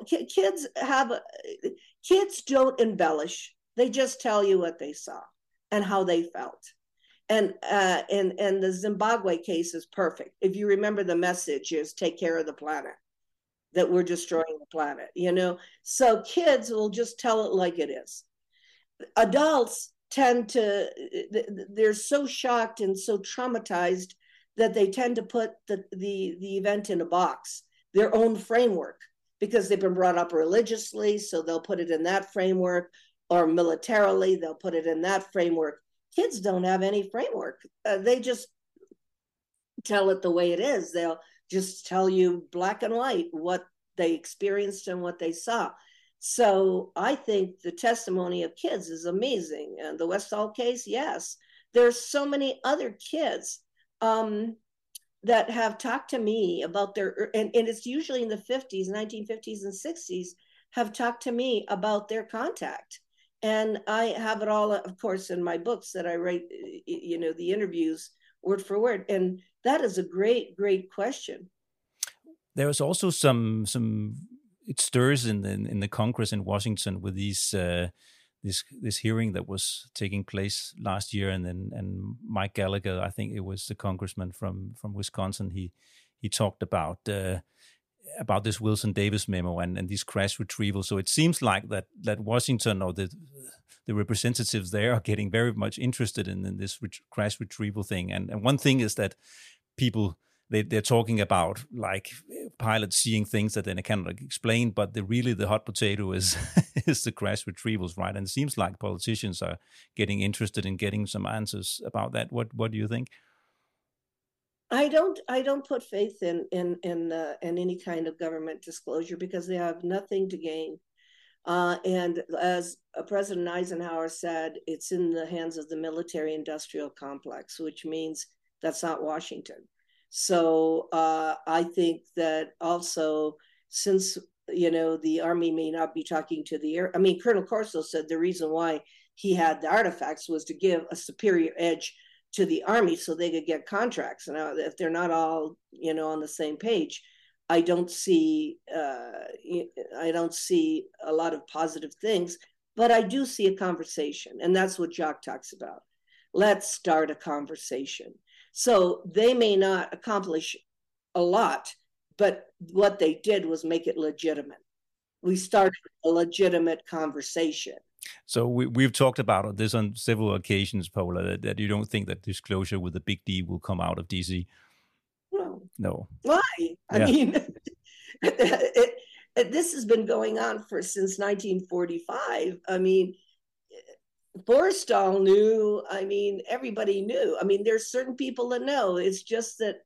kids don't embellish. They just tell you what they saw and how they felt. And the Zimbabwe case is perfect. If you remember, the message is take care of the planet, that we're destroying the planet, So kids will just tell it like it is. Adults they're so shocked and so traumatized that they tend to put the event in a box, their own framework, because they've been brought up religiously, so they'll put it in that framework, or militarily, they'll put it in that framework. Kids don't have any framework. They just tell it the way it is. They'll just tell you black and white what they experienced and what they saw. So I think the testimony of kids is amazing. And the Westall case, yes. There's so many other kids that have talked to me about and it's usually in the 50s, 1950s and 60s, have talked to me about their contact. And I have it all, of course, in my books that I write, the interviews word for word. And that is a great, great question. There was also some it stirs in the Congress in Washington with this hearing that was taking place last year, and Mike Gallagher, I think it was the congressman from Wisconsin, he talked about this Wilson Davis memo and these crash retrievals. So it seems like that Washington or the representatives there are getting very much interested in this crash retrieval thing. And one thing is that people, they're talking about like pilots seeing things that they cannot explain, but the hot potato is is the crash retrievals, right? And it seems like politicians are getting interested in getting some answers about that. What do you think? I don't put faith in any kind of government disclosure because they have nothing to gain. And as President Eisenhower said, it's in the hands of the military-industrial complex, which means that's not Washington. So I think that also, since the Army may not be talking to the air. I mean, Colonel Corso said the reason why he had the artifacts was to give a superior edge to the Army so they could get contracts. Now, if they're not all on the same page, I don't see a lot of positive things, but I do see a conversation, and that's what Jacques talks about. Let's start a conversation. So they may not accomplish a lot, but what they did was make it legitimate. We started a legitimate conversation. So we've talked about this on several occasions, Paula, that you don't think that disclosure with the big D will come out of DC. No. Why? I mean, this has been going on since 1945. I mean, Forrestal knew. I mean, everybody knew. I mean, there's certain people that know. It's just that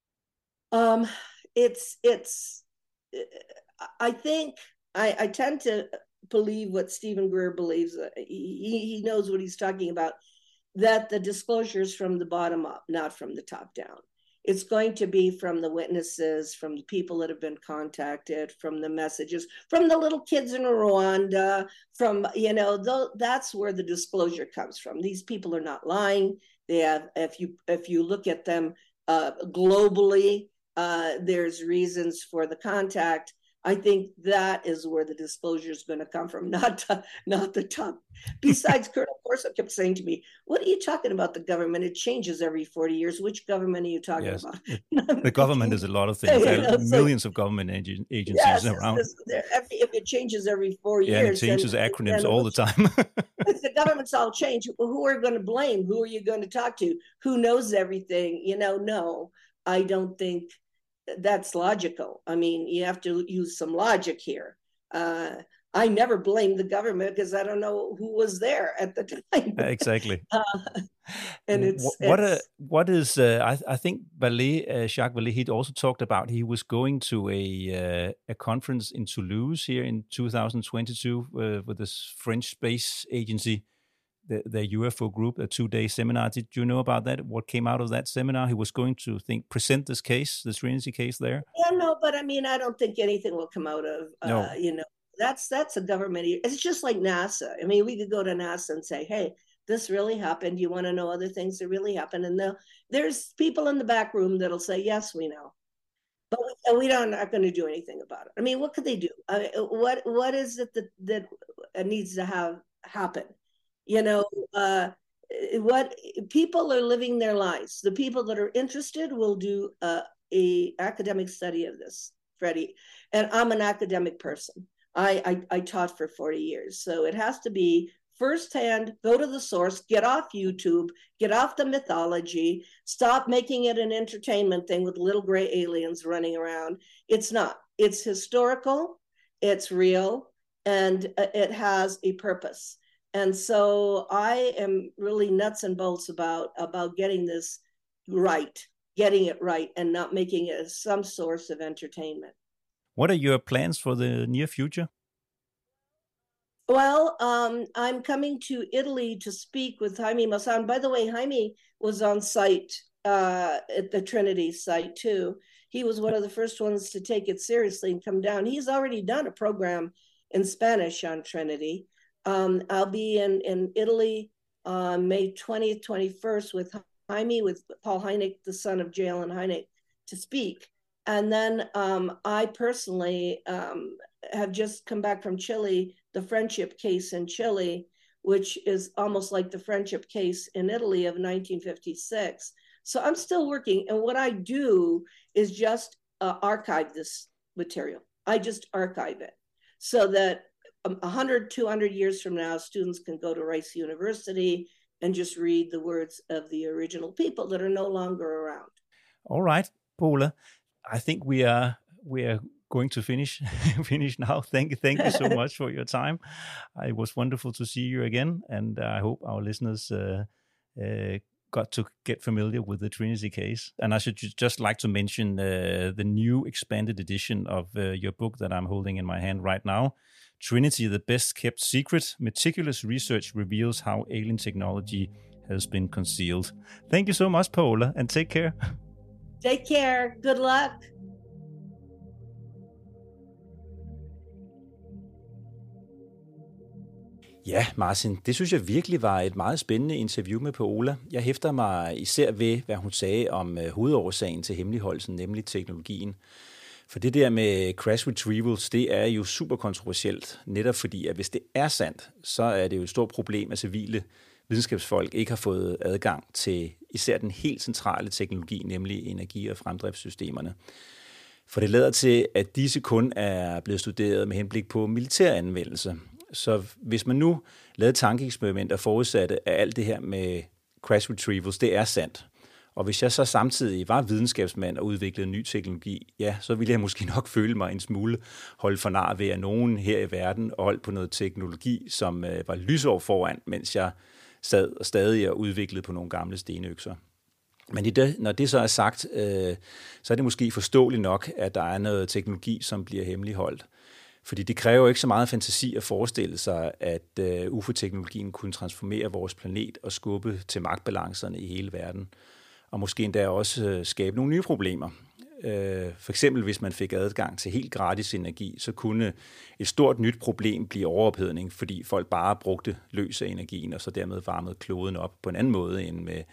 I think I tend to believe what Stephen Greer believes. He knows what he's talking about, that the disclosure is from the bottom up, not from the top down. It's going to be from the witnesses, from the people that have been contacted, from the messages, from the little kids in Rwanda, from, that's where the disclosure comes from. These people are not lying. They have, if you look at them globally, there's reasons for the contact. I think that is where the disclosure is going to come from, not the top. Besides, Colonel Corso kept saying to me, "What are you talking about? The government? It changes every 40 years. Which government are you talking about?" The government is a lot of things. There are millions of government agencies around. If it changes every 4 years, it changes acronyms all the time. If the government's all changed, who are you going to blame? Who are you going to talk to? Who knows everything? No, I don't think that's logical. I mean, you have to use some logic here. I never blame the government because I don't know who was there at the time. Exactly. And I think Jacques Vallée, he'd also talked about he was going to a conference in Toulouse here in 2022 with this French space agency, the UFO group, a 2-day seminar. Did you know about that? What came out of that seminar? He was going to present this case, the Trinity case there? Yeah, no, but I mean, I don't think anything will come out of, no. That's a government. It's just like NASA. I mean, we could go to NASA and say, hey, this really happened. You want to know other things that really happened? And there's people in the back room that'll say, yes, we know. But we are not going to do anything about it. I mean, what could they do? What is it that needs to happen? What people are living their lives. The people that are interested will do a academic study of this, Freddie. And I'm an academic person. I taught for 40 years. So it has to be firsthand, go to the source, get off YouTube, get off the mythology, stop making it an entertainment thing with little gray aliens running around. It's not. It's historical, it's real, and it has a purpose. And so I am really nuts and bolts about getting this right, getting it right, and not making it some source of entertainment. What are your plans for the near future? Well, I'm coming to Italy to speak with Jaime Maussan. By the way, Jaime was on site at the Trinity site too. He was one of the first ones to take it seriously and come down. He's already done a program in Spanish on Trinity. I'll be in Italy May 20th, 21st with Jaime, with Paul Hynek, the son of J. Allen Hynek, to speak. And then I personally have just come back from Chile, the friendship case in Chile, which is almost like the friendship case in Italy of 1956. So I'm still working. And what I do is just archive this material. I just archive it so that 100, 200 years from now, students can go to Rice University and just read the words of the original people that are no longer around. All right, Paula. I think we are going to finish now. Thank you so much for your time. It was wonderful to see you again, and I hope our listeners got to get familiar with the Trinity case. And I should just like to mention the new expanded edition of your book that I'm holding in my hand right now. Trinity, the best kept secret. Meticulous research reveals how alien technology has been concealed. Thank you so much, Paula, and take care. Take care. Good luck. Ja, Martin, det synes jeg virkelig var et meget spændende interview med Paola. Jeg hæfter mig især ved, hvad hun sagde om hovedårsagen til hemmeligholdelsen, nemlig teknologien. For det der med crash retrievals, det er jo super kontroversielt, netop fordi, at hvis det er sandt, så er det jo et stort problem, at civile videnskabsfolk ikke har fået adgang til især den helt centrale teknologi, nemlig energi- og fremdriftssystemerne. For det lader til, at disse kun er blevet studeret med henblik på militær anvendelse. Så hvis man nu lavede tankeeksperimenter forudsatte, at alt det her med crash retrievals, det er sandt, og hvis jeg så samtidig var videnskabsmand og udviklede ny teknologi, ja, så ville jeg måske nok føle mig en smule holdt for nar ved, at nogen her i verden holdt på noget teknologi, som var lysår foran, mens jeg sad og stadig udviklede på nogle gamle stenøkser. Men når det så er sagt, så er det måske forståeligt nok, at der er noget teknologi, som bliver hemmeligholdt. Fordi det kræver ikke så meget fantasi at forestille sig, at UFO-teknologien kunne transformere vores planet og skubbe til magtbalancerne i hele verden. Og måske endda også skabe nogle nye problemer. For eksempel hvis man fik adgang til helt gratis energi, så kunne et stort nyt problem blive overophedning, fordi folk bare brugte løs af energien, og så dermed varmede kloden op på en anden måde end med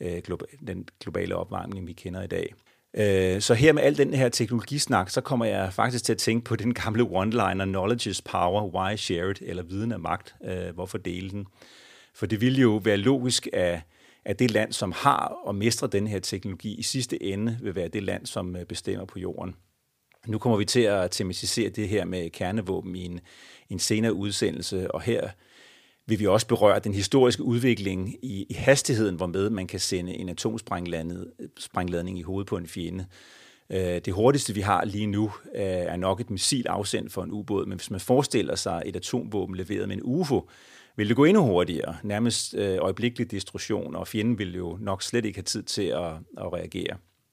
den globale opvarmning, vi kender i dag. Så her med al den her teknologisnak, så kommer jeg faktisk til at tænke på den gamle one-liner, knowledge is power, why share it, eller viden er magt, hvorfor dele den? For det ville jo være logisk, at det land, som har og mestrer den her teknologi, i sidste ende vil være det land, som bestemmer på jorden. Nu kommer vi til at tematisere det her med kernevåben i en senere udsendelse, og her vil vi også berøre den historiske udvikling i hastigheden, hvormed man kan sende en atomsprængladning i hovedet på en fjende. Det hurtigste, vi har lige nu, er nok et missil afsendt for en ubåd, men hvis man forestiller sig et atomvåben leveret med en UFO, vil det gå endnu hurtigere, nærmest øjeblikkelig destruktion, og fjenden vil jo nok slet ikke have tid til at reagere.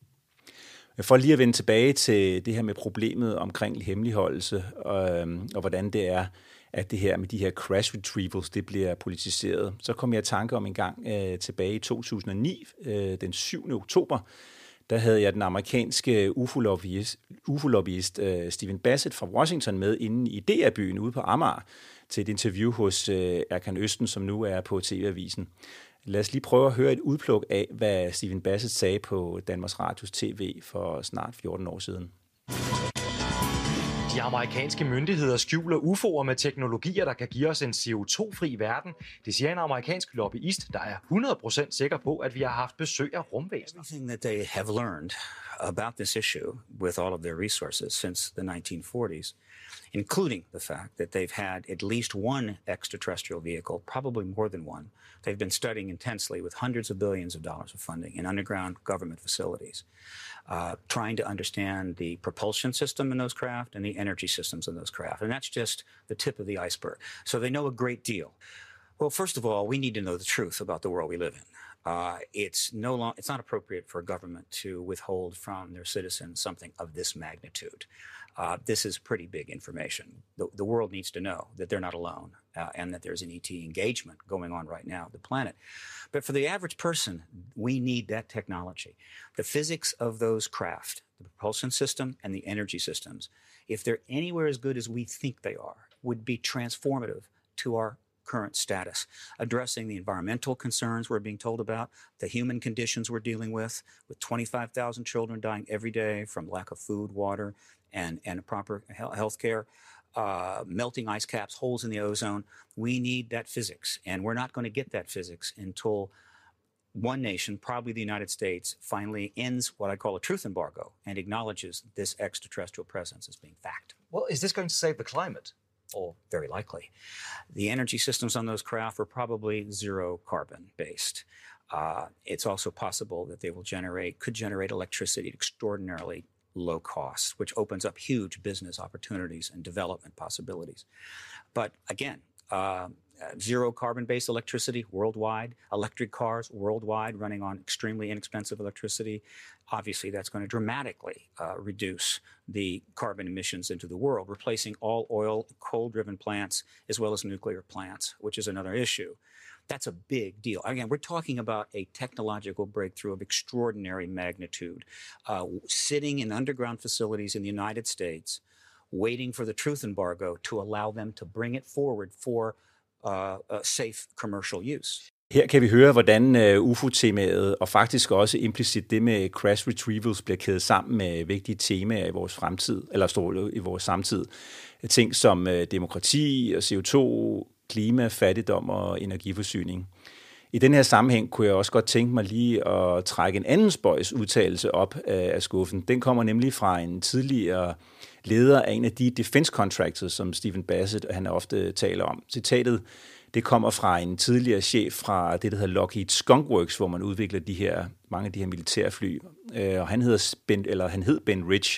For lige at vende tilbage til det her med problemet omkring hemmeligholdelse, og hvordan det er, at det her med de her crash retrievals, det bliver politiseret. Så kom jeg i tanke om en gang tilbage i 2009, den 7. oktober, der havde jeg den amerikanske UFO-lobbyist Stephen Bassett fra Washington med inde i DR-byen ude på Amager til et interview hos Erkan Østen, som nu er på TV-avisen. Lad os lige prøve at høre et udpluk af, hvad Stephen Bassett sagde på Danmarks Radios TV for snart 14 år siden. De amerikanske myndigheder skjuler UFO'er med teknologier, der kan give os en CO2-fri verden. Det siger en amerikansk lobbyist, der er 100% sikker på, at vi har haft besøg af rumvæsener. Everything that they have learned about this issue with all of their resources since the 1940s, including the fact that they've had at least one extraterrestrial vehicle, probably more than one, they've been studying intensely with hundreds of billions of dollars of funding in underground government facilities, trying to understand the propulsion system in those craft and the energy systems in those craft. And that's just the tip of the iceberg. So they know a great deal. Well, first of all, we need to know the truth about the world we live in. It's not appropriate for a government to withhold from their citizens something of this magnitude. This is pretty big information. The world needs to know that they're not alone and that there's an ET engagement going on right now on the planet. But for the average person, we need that technology. The physics of those craft, the propulsion system and the energy systems, if they're anywhere as good as we think they are, would be transformative to our current status, addressing the environmental concerns we're being told about, the human conditions we're dealing with 25,000 children dying every day from lack of food, water, and proper health care. Melting ice caps, holes in the ozone. We need that physics, and we're not going to get that physics until one nation, probably the United States, finally ends what I call a truth embargo and acknowledges this extraterrestrial presence as being fact. Well, is this going to save the climate? Or very likely. The energy systems on those craft were probably zero carbon based. It's also possible that they could generate electricity at extraordinarily low costs, which opens up huge business opportunities and development possibilities. But again, zero carbon-based electricity worldwide, electric cars worldwide running on extremely inexpensive electricity. Obviously, that's going to dramatically reduce the carbon emissions into the world, replacing all oil, coal-driven plants as well as nuclear plants, which is another issue. That's a big deal. Again, we're talking about a technological breakthrough of extraordinary magnitude, sitting in underground facilities in the United States, waiting for the truth embargo to allow them to bring it forward for safe commercial use. Her kan vi høre, hvordan UFO-temaet og faktisk også implicit det med crash retrievals bliver kædet sammen med vigtige temaer i vores fremtid, eller står i vores samtid. Ting som demokrati og CO2, klima, fattigdom og energiforsyning. I den her sammenhæng kunne jeg også godt tænke mig lige at trække en anden spøjs udtalelse op af skuffen. Den kommer nemlig fra en tidligere leder af en af de defense contractors, som Stephen Bassett han ofte taler om. Citatet det kommer fra en tidligere chef fra det, der hedder Lockheed Skunk Works, hvor man udvikler mange af de her militærfly. Og han hed Ben Rich,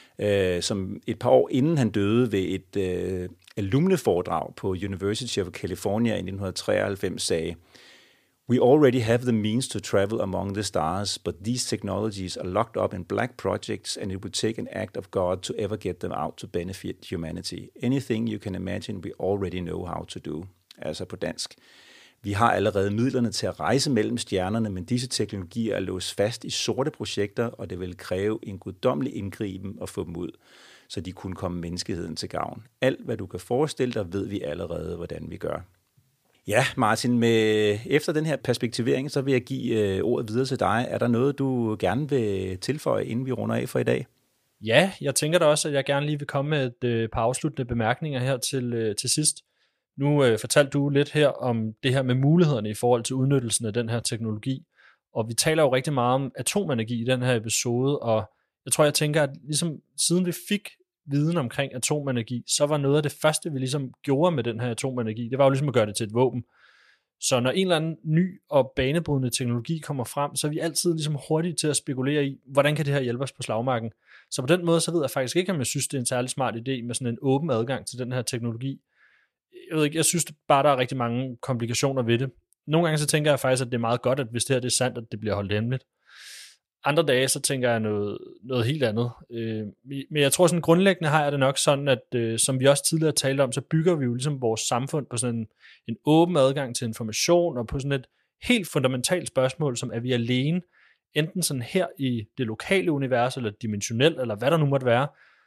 som et par år inden han døde ved et alumneforedrag på University of California i 1993 sagde, "We already have the means to travel among the stars, but these technologies are locked up in black projects, and it would take an act of God to ever get them out to benefit humanity. Anything you can imagine, we already know how to do." Altså på dansk. Vi har allerede midlerne til at rejse mellem stjernerne, men disse teknologier er låst fast i sorte projekter, og det vil kræve en guddommelig indgriben at få dem ud, så de kunne komme menneskeheden til gavn. Alt, hvad du kan forestille dig, ved vi allerede, hvordan vi gør. Ja, Martin, efter den her perspektivering, så vil jeg give ordet videre til dig. Er der noget, du gerne vil tilføje, inden vi runder af for i dag? Ja, jeg tænker da også, at jeg gerne lige vil komme med et par afsluttende bemærkninger her til sidst. Nu fortalte du lidt her om det her med mulighederne i forhold til udnyttelsen af den her teknologi, og vi taler jo rigtig meget om atomenergi i den her episode, og jeg tænker, at ligesom siden vi fik viden omkring atomenergi, så var noget af det første, vi ligesom gjorde med den her atomenergi, det var jo ligesom at gøre det til et våben. Så når en eller anden ny og banebrydende teknologi kommer frem, så er vi altid ligesom hurtige til at spekulere i, hvordan kan det her hjælpe os på slagmarken. Så på den måde, så ved jeg faktisk ikke, om jeg synes, det er en særlig smart idé med sådan en åben adgang til den her teknologi. Jeg synes bare, der er rigtig mange komplikationer ved det. Nogle gange så tænker jeg faktisk, at det er meget godt, at hvis det her det er sandt, at det bliver holdt hemmeligt. Andre dage, så tænker jeg noget helt andet. Men jeg tror sådan grundlæggende har jeg det nok sådan, at som vi også tidligere talte om, så bygger vi jo ligesom vores samfund på sådan en åben adgang til information, og på sådan et helt fundamentalt spørgsmål, som er vi alene, enten sådan her i det lokale univers, eller dimensionelt, eller hvad der nu måtte være.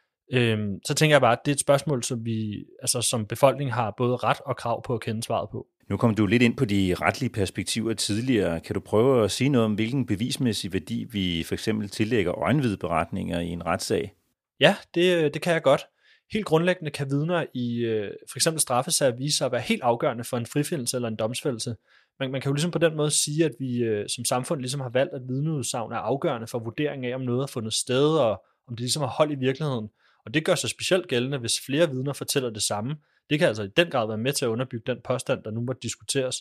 Så tænker jeg bare, at det er et spørgsmål, som vi som befolkning har både ret og krav på at kende svaret på. Nu kom du lidt ind på de retlige perspektiver tidligere. Kan du prøve at sige noget om, hvilken bevismæssig værdi vi for eksempel tillægger øjenvidneberetninger i en retssag? Ja, det kan jeg godt. Helt grundlæggende kan vidner i for eksempel straffesager vise sig at være helt afgørende for en frifindelse eller en domsfældelse. Man kan jo ligesom på den måde sige, at vi som samfund ligesom har valgt, at vidneudsagn er afgørende for vurderingen af, om noget er fundet sted, og om det ligesom har hold i virkeligheden. Og det gør sig specielt gældende, hvis flere vidner fortæller det samme. Det kan altså i den grad være med til at underbygge den påstand, der nu må diskuteres.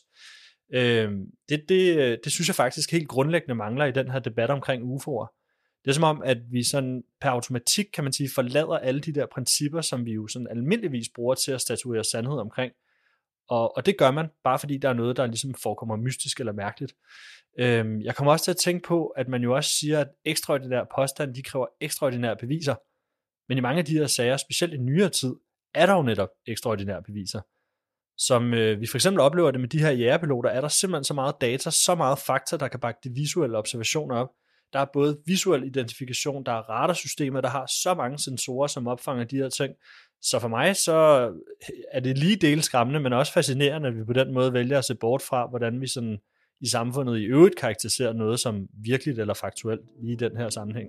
Det synes jeg faktisk helt grundlæggende mangler i den her debat omkring UFO'er. Det er som om, at vi sådan per automatik, kan man sige, forlader alle de der principper, som vi jo sådan almindeligvis bruger til at statuere sandhed omkring. Og det gør man, bare fordi der er noget, der ligesom forekommer mystisk eller mærkeligt. Jeg kommer også til at tænke på, at man jo også siger, at ekstraordinære påstande, de kræver ekstraordinære beviser. Men i mange af de her sager, specielt i nyere tid, er der jo netop ekstraordinære beviser. Som vi for eksempel oplever det med de her jægerpiloter, er der simpelthen så meget data, så meget fakta, der kan bakke de visuelle observationer op. Der er både visuel identifikation, der er radarsystemer, der har så mange sensorer, som opfanger de her ting, Så for mig så er det lige del skræmmende, men også fascinerende, at vi på den måde vælger at se bort fra, hvordan vi sådan i samfundet i øvrigt karakteriserer noget som virkeligt eller faktuelt lige i den her sammenhæng.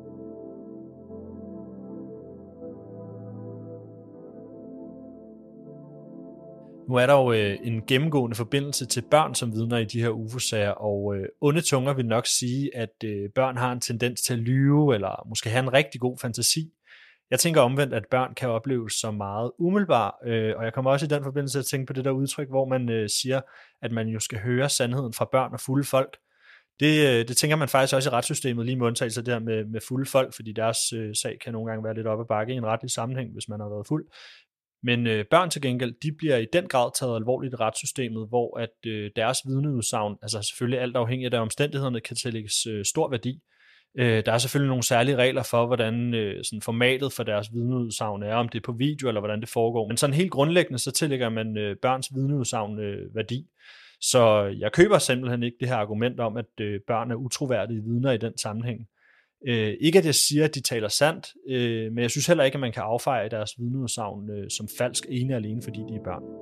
Nu er der jo en gennemgående forbindelse til børn som vidner i de her UFO-sager, og onde tunger vil nok sige, at børn har en tendens til at lyve, eller måske have en rigtig god fantasi. Jeg tænker omvendt, at børn kan opleves som meget umiddelbare, og jeg kommer også i den forbindelse at tænke på det der udtryk, hvor man siger, at man jo skal høre sandheden fra børn og fulde folk. Det tænker man faktisk også i retssystemet, lige med undtagelser der med fulde folk, fordi deres sag kan nogle gange være lidt op ad bakke i en retlig sammenhæng, hvis man har været fuld. Men børn til gengæld, de bliver i den grad taget alvorligt i retssystemet, hvor at deres vidneudsagn, altså selvfølgelig alt afhængigt af omstændighederne, kan tillægges stor værdi. Der er selvfølgelig nogle særlige regler for, hvordan sådan formatet for deres vidneudsagn er, om det er på video eller hvordan det foregår. Men sådan helt grundlæggende, så tillægger man børns vidneudsagn værdi. Så jeg køber simpelthen ikke det her argument om, at børn er utroværdige vidner i den sammenhæng. Ikke at jeg siger, at de taler sandt, men jeg synes heller ikke, at man kan affeje deres vidneudsagn som falsk ene og alene, fordi de er børn.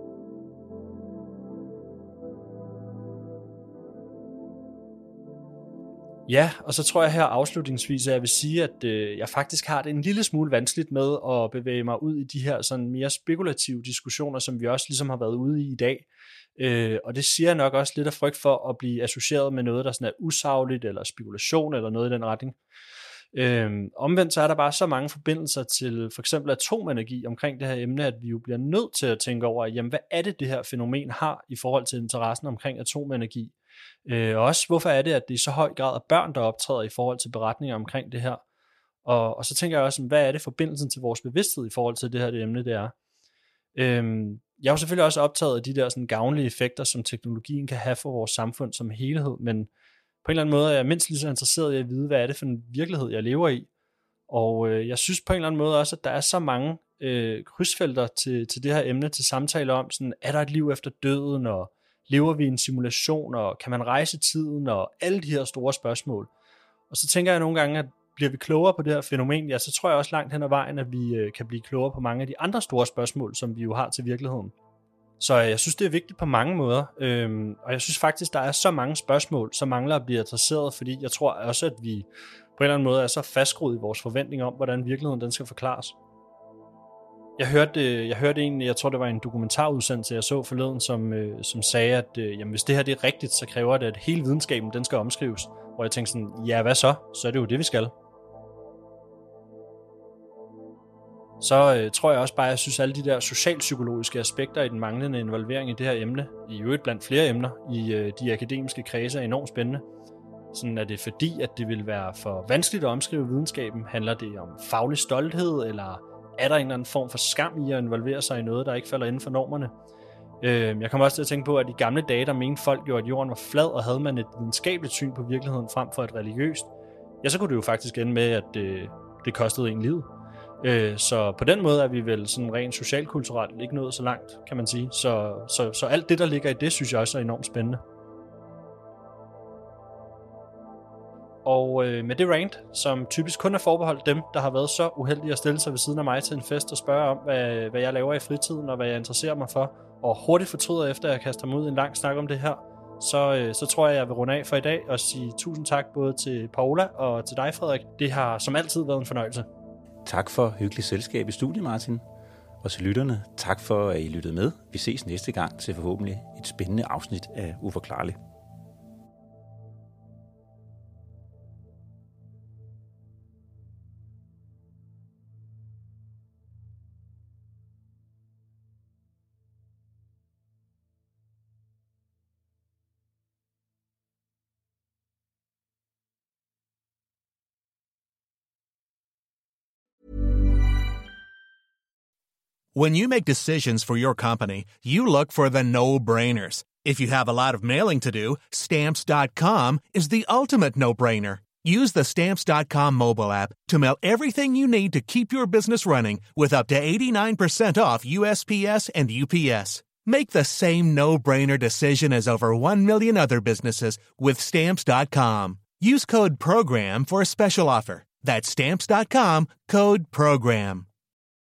Ja, og så tror jeg her afslutningsvis, at jeg vil sige, at jeg faktisk har det en lille smule vanskeligt med at bevæge mig ud i de her sådan mere spekulative diskussioner, som vi også ligesom har været ude i dag. Og det siger jeg nok også lidt af frygt for at blive associeret med noget, der sådan er usagligt, eller spekulation, eller noget i den retning. Omvendt så er der bare så mange forbindelser til for eksempel atomenergi omkring det her emne, at vi jo bliver nødt til at tænke over, jamen hvad er det her fænomen har i forhold til interessen omkring atomenergi? Og også hvorfor er det, at det i så høj grad er børn, der optræder i forhold til beretninger omkring det her? Og så tænker jeg også, hvad er det forbindelsen til vores bevidsthed i forhold til det her det emne, det er? Jeg er jo selvfølgelig også optaget af de der sådan gavnlige effekter, som teknologien kan have for vores samfund som helhed, men på en eller anden måde er jeg mindst lige så interesseret i at vide, hvad er det for en virkelighed, jeg lever i. Og jeg synes på en eller anden måde også, at der er så mange krydsfelter til det her emne, til samtale om, sådan, er der et liv efter døden, og lever vi i en simulation, og kan man rejse tiden, og alle de her store spørgsmål. Og så tænker jeg nogle gange, at bliver vi klogere på det her fænomen, ja, så tror jeg også langt hen ad vejen, at vi kan blive klogere på mange af de andre store spørgsmål, som vi jo har til virkeligheden. Så jeg synes, det er vigtigt på mange måder, og jeg synes faktisk, der er så mange spørgsmål, som mangler at blive adresseret, fordi jeg tror også, at vi på en eller anden måde er så fastskruet i vores forventning om, hvordan virkeligheden den skal forklares. Jeg hørte en, jeg tror det var en dokumentarudsendelse, jeg så forleden, som sagde, at jamen, hvis det her det er rigtigt, så kræver det, at hele videnskaben den skal omskrives. Hvor jeg tænkte sådan, ja hvad så? Så er det jo det, vi skal. Så tror jeg også bare, at jeg synes, at alle de der socialpsykologiske aspekter i den manglende involvering i det her emne, i øvrigt blandt flere emner i de akademiske kredse, er enormt spændende. Sådan er det fordi, at det vil være for vanskeligt at omskrive videnskaben? Handler det om faglig stolthed, eller er der en eller anden form for skam i at involvere sig i noget, der ikke falder inden for normerne? Jeg kommer også til at tænke på, at i gamle dage, der mente folk jo, at jorden var flad, og havde man et videnskabeligt syn på virkeligheden frem for et religiøst, ja, så kunne det jo faktisk ende med, at det kostede en liv. Så på den måde er vi vel sådan rent socialkulturelt ikke nået så langt, kan man sige. Så alt det, der ligger i det, synes jeg også er enormt spændende. Og med det rant, som typisk kun er forbeholdt dem, der har været så uheldige at stille sig ved siden af mig til en fest og spørge om, hvad jeg laver i fritiden, og hvad jeg interesserer mig for, og hurtigt fortryder efter, at jeg kaster mig ud i en lang snak om det her, så tror jeg vil runde af for i dag og sige tusind tak både til Paola og til dig, Frederik. Det har som altid været en fornøjelse. Tak for hyggeligt selskab i studiet, Martin. Og til lytterne, tak for, at I lyttede med. Vi ses næste gang til forhåbentlig et spændende afsnit af Uforklarligt. When you make decisions for your company, you look for the no-brainers. If you have a lot of mailing to do, Stamps.com is the ultimate no-brainer. Use the Stamps.com mobile app to mail everything you need to keep your business running with up to 89% off USPS and UPS. Make the same no-brainer decision as over 1 million other businesses with Stamps.com. Use code PROGRAM for a special offer. That's Stamps.com, code PROGRAM.